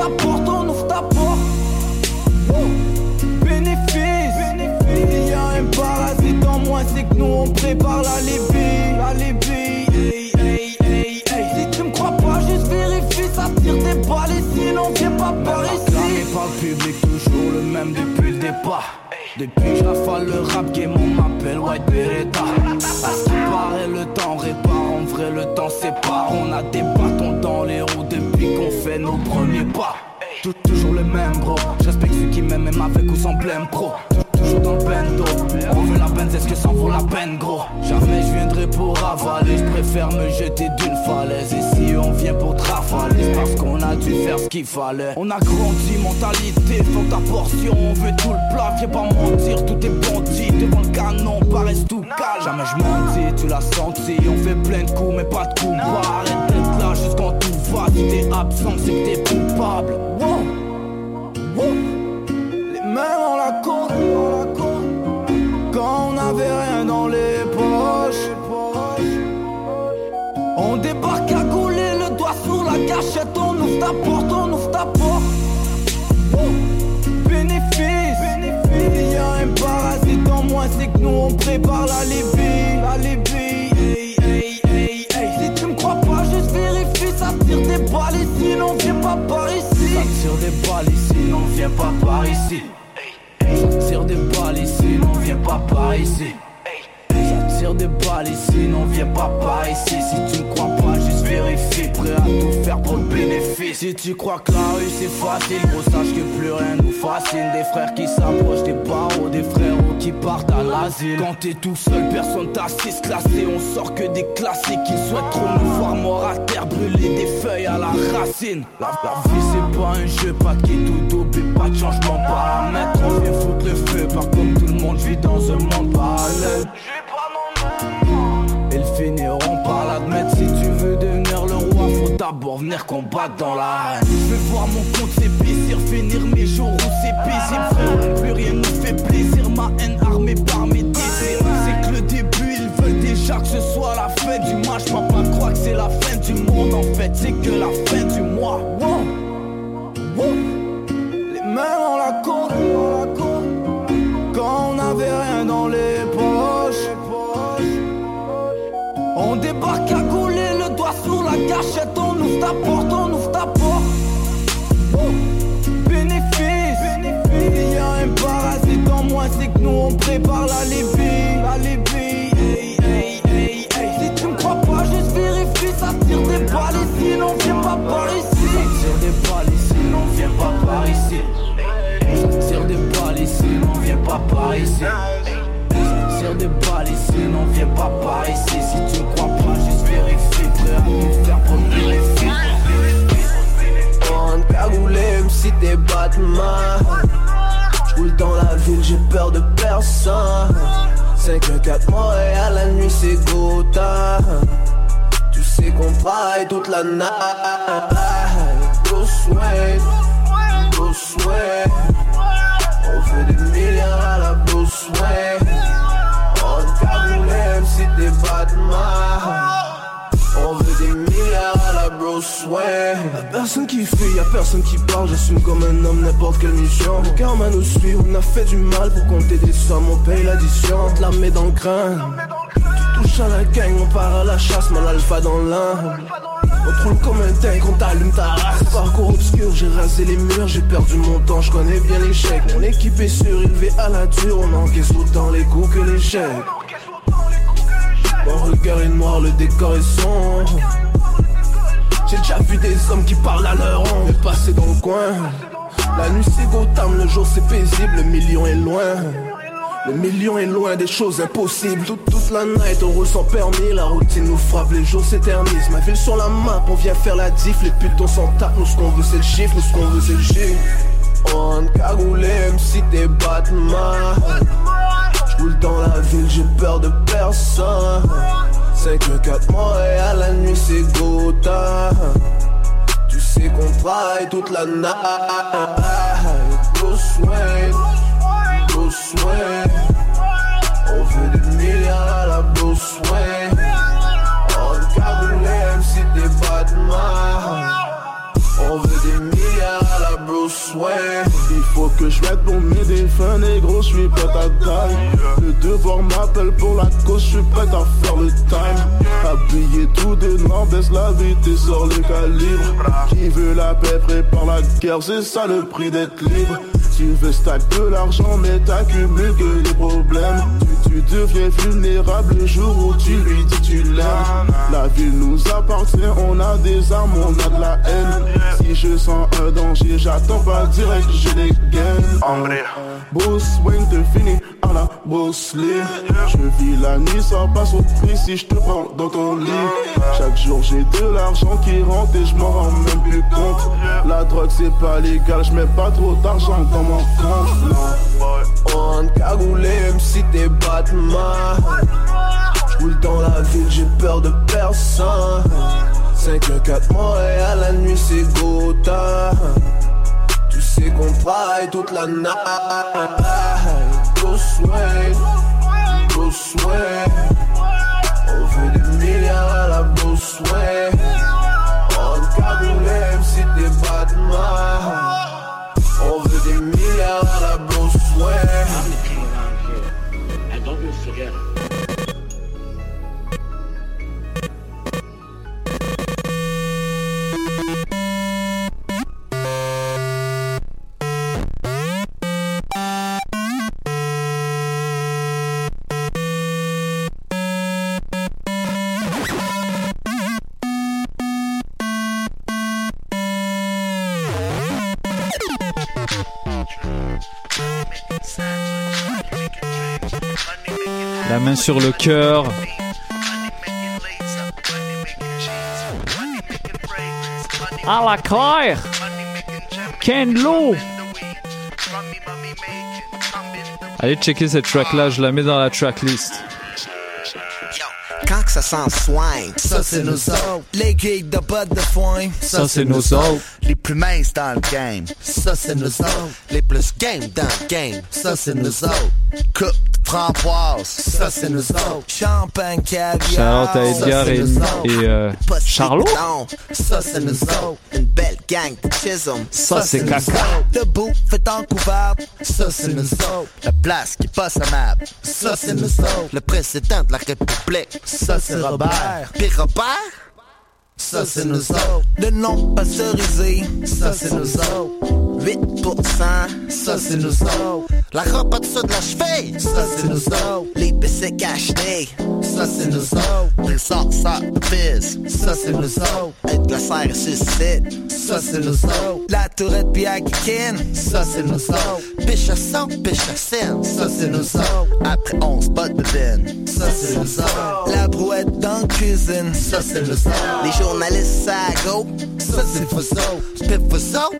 ta porte, on ouvre ta porte. Bénéfice, il y a un parasite en moins, c'est que nous on prépare la Libye. La Libye, hey, hey, hey, hey. Si tu me crois pas, juste vérifie, ça tire des balles et sinon viens pas par ici. Acclamé par le public, toujours le même depuis le départ. Depuis que j'affale le rap game, on m'appelle White Beretta. À ce qui paraît, le temps répare, en vrai le temps sépare. On a des bâtons dans les roues depuis qu'on fait nos premiers pas. Tout, toujours le même bro, je respecte ceux qui m'aiment même avec ou sans blême pro. Toujours dans le bendo, on veut la benz, est-ce que ça vaut la peine gros? Jamais je viendrai pour avaler, je préfère me jeter d'une falaise. Et si on vient pour trafaler, c'est parce qu'on a dû faire ce qu'il fallait. On a grandi, mentalité, faut ta portion, on veut tout le plat. Viens pas mentir, tout est bandit, devant le canon, paraisse tout calme. Jamais je mentis, tu l'as senti, on fait plein de coups mais pas de coups bas. Arrête d'être là juste quand tout va, si t'es absent c'est que t'es coupable. Wow. Wow. Les mains dans la côte, quand on n'avait rien dans les poches. On débarque à gauler, le doigt sur la gâchette. On ouvre ta porte, on ouvre ta porte. Bénéfice, il y a un parasite en moins, c'est que nous on prépare la Libye. La Libye, hey, hey, hey, hey. Si tu me crois pas, juste vérifie, ça tire des balles et sinon viens pas par ici. Ça tire des balles ici, non viens pas par ici. Ça tire des balles ici, non viens pas par ici. Ça tire des balles ici, non viens pas par ici. Si tu me crois pas, juste vérifie. Prêt à tout faire pour le bénéfice. Si tu crois que la rue c'est facile, gros sache que plus rien nous fascine. Des frères qui s'approchent des barreaux, des frérots qui partent à l'asile. Quand t'es tout seul, personne t'assiste classé. On sort que des classiques. Ils souhaitent trop nous voir mort à terre, brûler des feuilles à la racine. La, la vie c'est pas un jeu, pas qui est tout dopé, pas de changement paramètre. On vient foutre le feu, pas comme tout le monde, je vis dans un monde parallèle. Ils finiront par l'admettre. Si tu veux devenir le roi, faut d'abord venir combattre dans l'arène. Je veux voir mon compte s'épaissir, finir mes jours où c'est paisible. Frère, plus rien nous fait plaisir. Ma haine armée par mes désirs. C'est que le début, ils veulent déjà que ce soit la fin du match. Papa croit que c'est la fin du monde. En fait, c'est que la fin du mois. Wow. Wow. Les mains dans la côte, quand on n'avait rien dans les poches. On débarque à gauler, le doigt sur la gâchette. On ouvre ta porte, on ouvre ta porte. Bénéfice, il y a un parasite en moins, c'est que nous on prépare la Libye. La Libye, hey, hey, hey, hey. Si tu me crois pas, juste vérifie. Ça tire des balles ici, non viens pas par ici. Ça tire des balles ici, non viens pas par ici. Ça tire des balles ici, non viens pas par ici. Tire des balles ici, non viens pas par ici. Si tu me crois pas, juste vérifie. Prêt à tout faire pour le bénéfice. On cagoulé, même si t'es Batman. J'roule dans la ville, j'ai peur de personne. cinq un quatre Montréal, la nuit c'est Gotha. Tu sais qu'on travaille toute la night. Go sweat, go sweat. On fait des milliards à la go sweat. On cagoulé, même si t'es Batman. On veut des milliards à la Bruce Wayne. Y'a personne qui fuit, y'a personne qui parle. J'assume comme un homme n'importe quelle mission. Le karma nous suit, on a fait du mal pour compter des sommes. On paye l'addition, on te la met dans le crâne. Tu touches à la gang, on part à la chasse, mal alpha dans l'un. On te roule comme un tank, on t'allume ta race. Parcours obscur, j'ai rasé les murs, j'ai perdu mon temps, je connais bien l'échec. Mon équipe est surélevée à la dure, on encaisse autant les coups que l'échec. Mon regard est noir, le décor est sombre. J'ai déjà vu des hommes qui parlent à leur ombre, passer dans le coin. La nuit c'est Gotham, le jour c'est paisible, le million est loin. Le million est loin des choses impossibles. Toute, toute la night on roule sans permis. La routine nous frappe, les jours s'éternisent. Ma ville sur la map, on vient faire la diff. Les putes on s'en tape, nous ce qu'on veut c'est le chiffre. Nous ce qu'on veut c'est le chiffre. On cagoulé, même si t'es Batman. J'roule dans la ville, j'ai peur de personne. cinq un quatre Montréal, la nuit c'est Gotha. Tu sais qu'on travaille toute la night. Go sweat, go sweat. On veut des milliards à la Bruce Wayne. On cagoulé, même si t'es Batman. On veut des milliards à Bruce Wayne. Il faut que je mette pour m'aider, fin négro, je suis pas ta taille. Le devoir m'appelle pour la cause, je suis prêt à faire le time. Habillé tout de noir, baisse la vitesse, sort le calibre. Qui veut la paix prépare la guerre, c'est ça le prix d'être libre. Tu veux stack de l'argent mais t'accumules que des problèmes. Tu, tu deviens vulnérable le jour où tu lui dis tu l'aimes. La ville nous appartient, on a des armes, on a de la haine. Si je sens un danger, j'attends pas direct, j'ai des gains. Bruce Wayne te finit à la Bruce Lee. Je vis la nuit, ça passe au prix si je te prends dans ton lit. Chaque jour j'ai de l'argent qui rentre et je m'en rends même plus compte. La drogue c'est pas légal, je mets pas trop d'argent dans mon compte, non. On cagoulé même si t'es Batman. J'roule dans la ville, j'ai peur de personne. cinq un quatre Montréal, la nuit c'est Gotham. Tu sais qu'on travaille toute la night. Bruce Wayne, Bruce Wayne. On veut des milliards à la Bruce Wayne. On cagoulé même si t'es Batman. On veut des milliards à la Bruce Wayne. And don't you forget it. La main sur le cœur. À la claire. Ken Lo. Allez checker cette track là, je la mets dans la tracklist. Quand que ça s'en soigne, ça c'est nos autres. Les geeks de bottes de foin, ça c'est nos autres. Les plus minces dans le game, ça c'est nos autres. Les plus game dans le game, ça c'est nos autres. Coupe de framboise, ça c'est nos autres. Champagne caviar, Charlotte à Edgar et, et euh, Charlot. Ça c'est nous autres. Une belle gang de chisholm, ça c'est caca. Le bout fait en couverte, ça c'est nous autres. La place qui passe à map, ça c'est nous autres. Le président de la République, ça c'est Robert. Puis Robert, ça c'est nous autres. Le nom pasteurisé, ça c'est nous autres. huit pour cent, ça c'est nous autres. La robe en dessous de la cheville, ça c'est nous autres. Les bicycles achetés, ça c'est nous autres. Les sorts sortent de pisse, ça c'est nous autres. Être glacé et suicide, ça c'est nous autres. La tourette puis à Kikin, ça c'est nous autres. Piche à sang, piche à scène, ça c'est nous autres. Après onze bottes de bine, ça c'est nous autres. La brouette dans la cuisine, ça c'est nous autres. Les journalistes à go, ça c'est vous autres. Pip vous autres,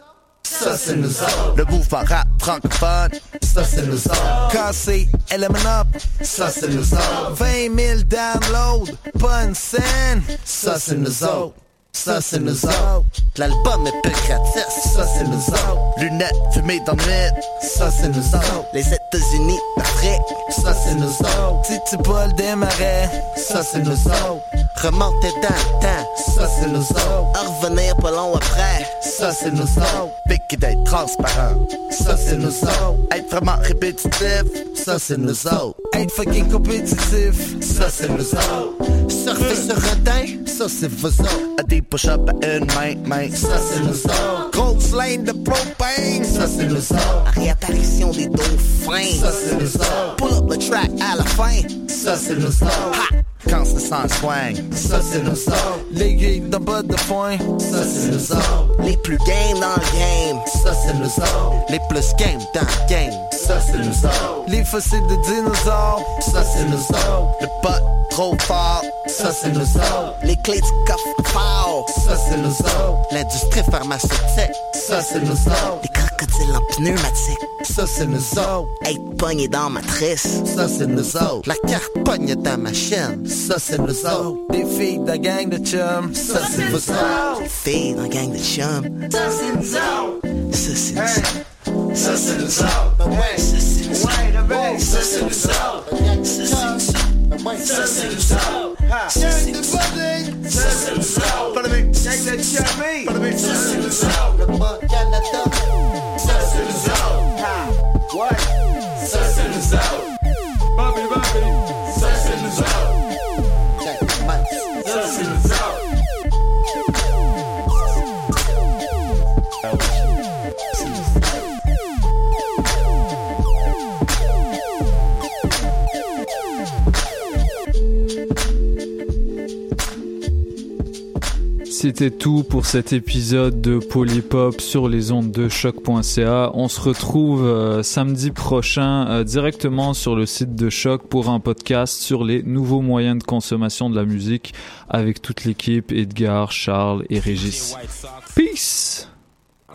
ça c'est nous autres. Le mouvement rap francophone, ça c'est nous autres. Cassé, Element Up, ça c'est nous autres. vingt mille downloads, pas une scène, ça c'est nous autres. Ça c'est nous autres. L'album est peu gratis, ça c'est nous autres. Lunettes fumées dans le nuit, ça c'est nous autres. Les États-Unis d'Afrique, ça c'est nous autres. Si tu bois des marais, ça c'est nous autres. Remonter dans le temps, ça c'est nous autres. À revenir pas long après, ça c'est nous autres. Piquer d'être transparent, ça c'est nous autres. Être vraiment répétitif, ça c'est nous autres. Être fucking compétitif, ça c'est nous autres. Surfer sur un teint, ça c'est vous autres. À des push-up à une main, main, ça c'est nous autres. Grosse lane de propane, ça c'est nous autres. Réapparition des dauphins, ça c'est nous autres. Pull up le track à la fin, ça c'est nous autres. Ha! Quand c'est sans swing, ça c'est nous autres. Les geeks de bottes de foin, ça c'est nous autres. Les plus game dans le game, ça c'est nous autres. Les plus game dans le game, ça c'est nous autres. Les fossiles de dinosaures, ça c'est nous autres. Le pot trop fort, ça c'est nous autres. Les clés du coffre fort, ça c'est nous autres. L'industrie pharmaceutique, ça c'est nous autres. Les crocodiles en pneumatique, ça c'est nous autres. Être pogné dans matrice, ça c'est nous autres. La carte pogne dans ma chaîne, ça c'est nous autres. Les filles de la gang de chum, ça c'est nous autres. Les filles de la gang de chum, ça c'est nous autres. Ça c'est nous autres. Ça c'est nous autres. Ça c'est nous autres. Ça c'est nous autres. Ça c'est nous autres. Ça c'est nous autres. Ça c'est nous autres. Ça c'est nous autres. Ça c'est nous autres. gâteau. Ça c'est le zoo. Ouais. Ça c'est le zoo. Baby, baby. Ça c'est le zoo. Ça c'est le zoo. C'était tout pour cet épisode de Polypop sur les ondes de choc point c a. On se retrouve euh, samedi prochain euh, directement sur le site de Choc pour un podcast sur les nouveaux moyens de consommation de la musique avec toute l'équipe, Edgar, Charles et Régis. Peace!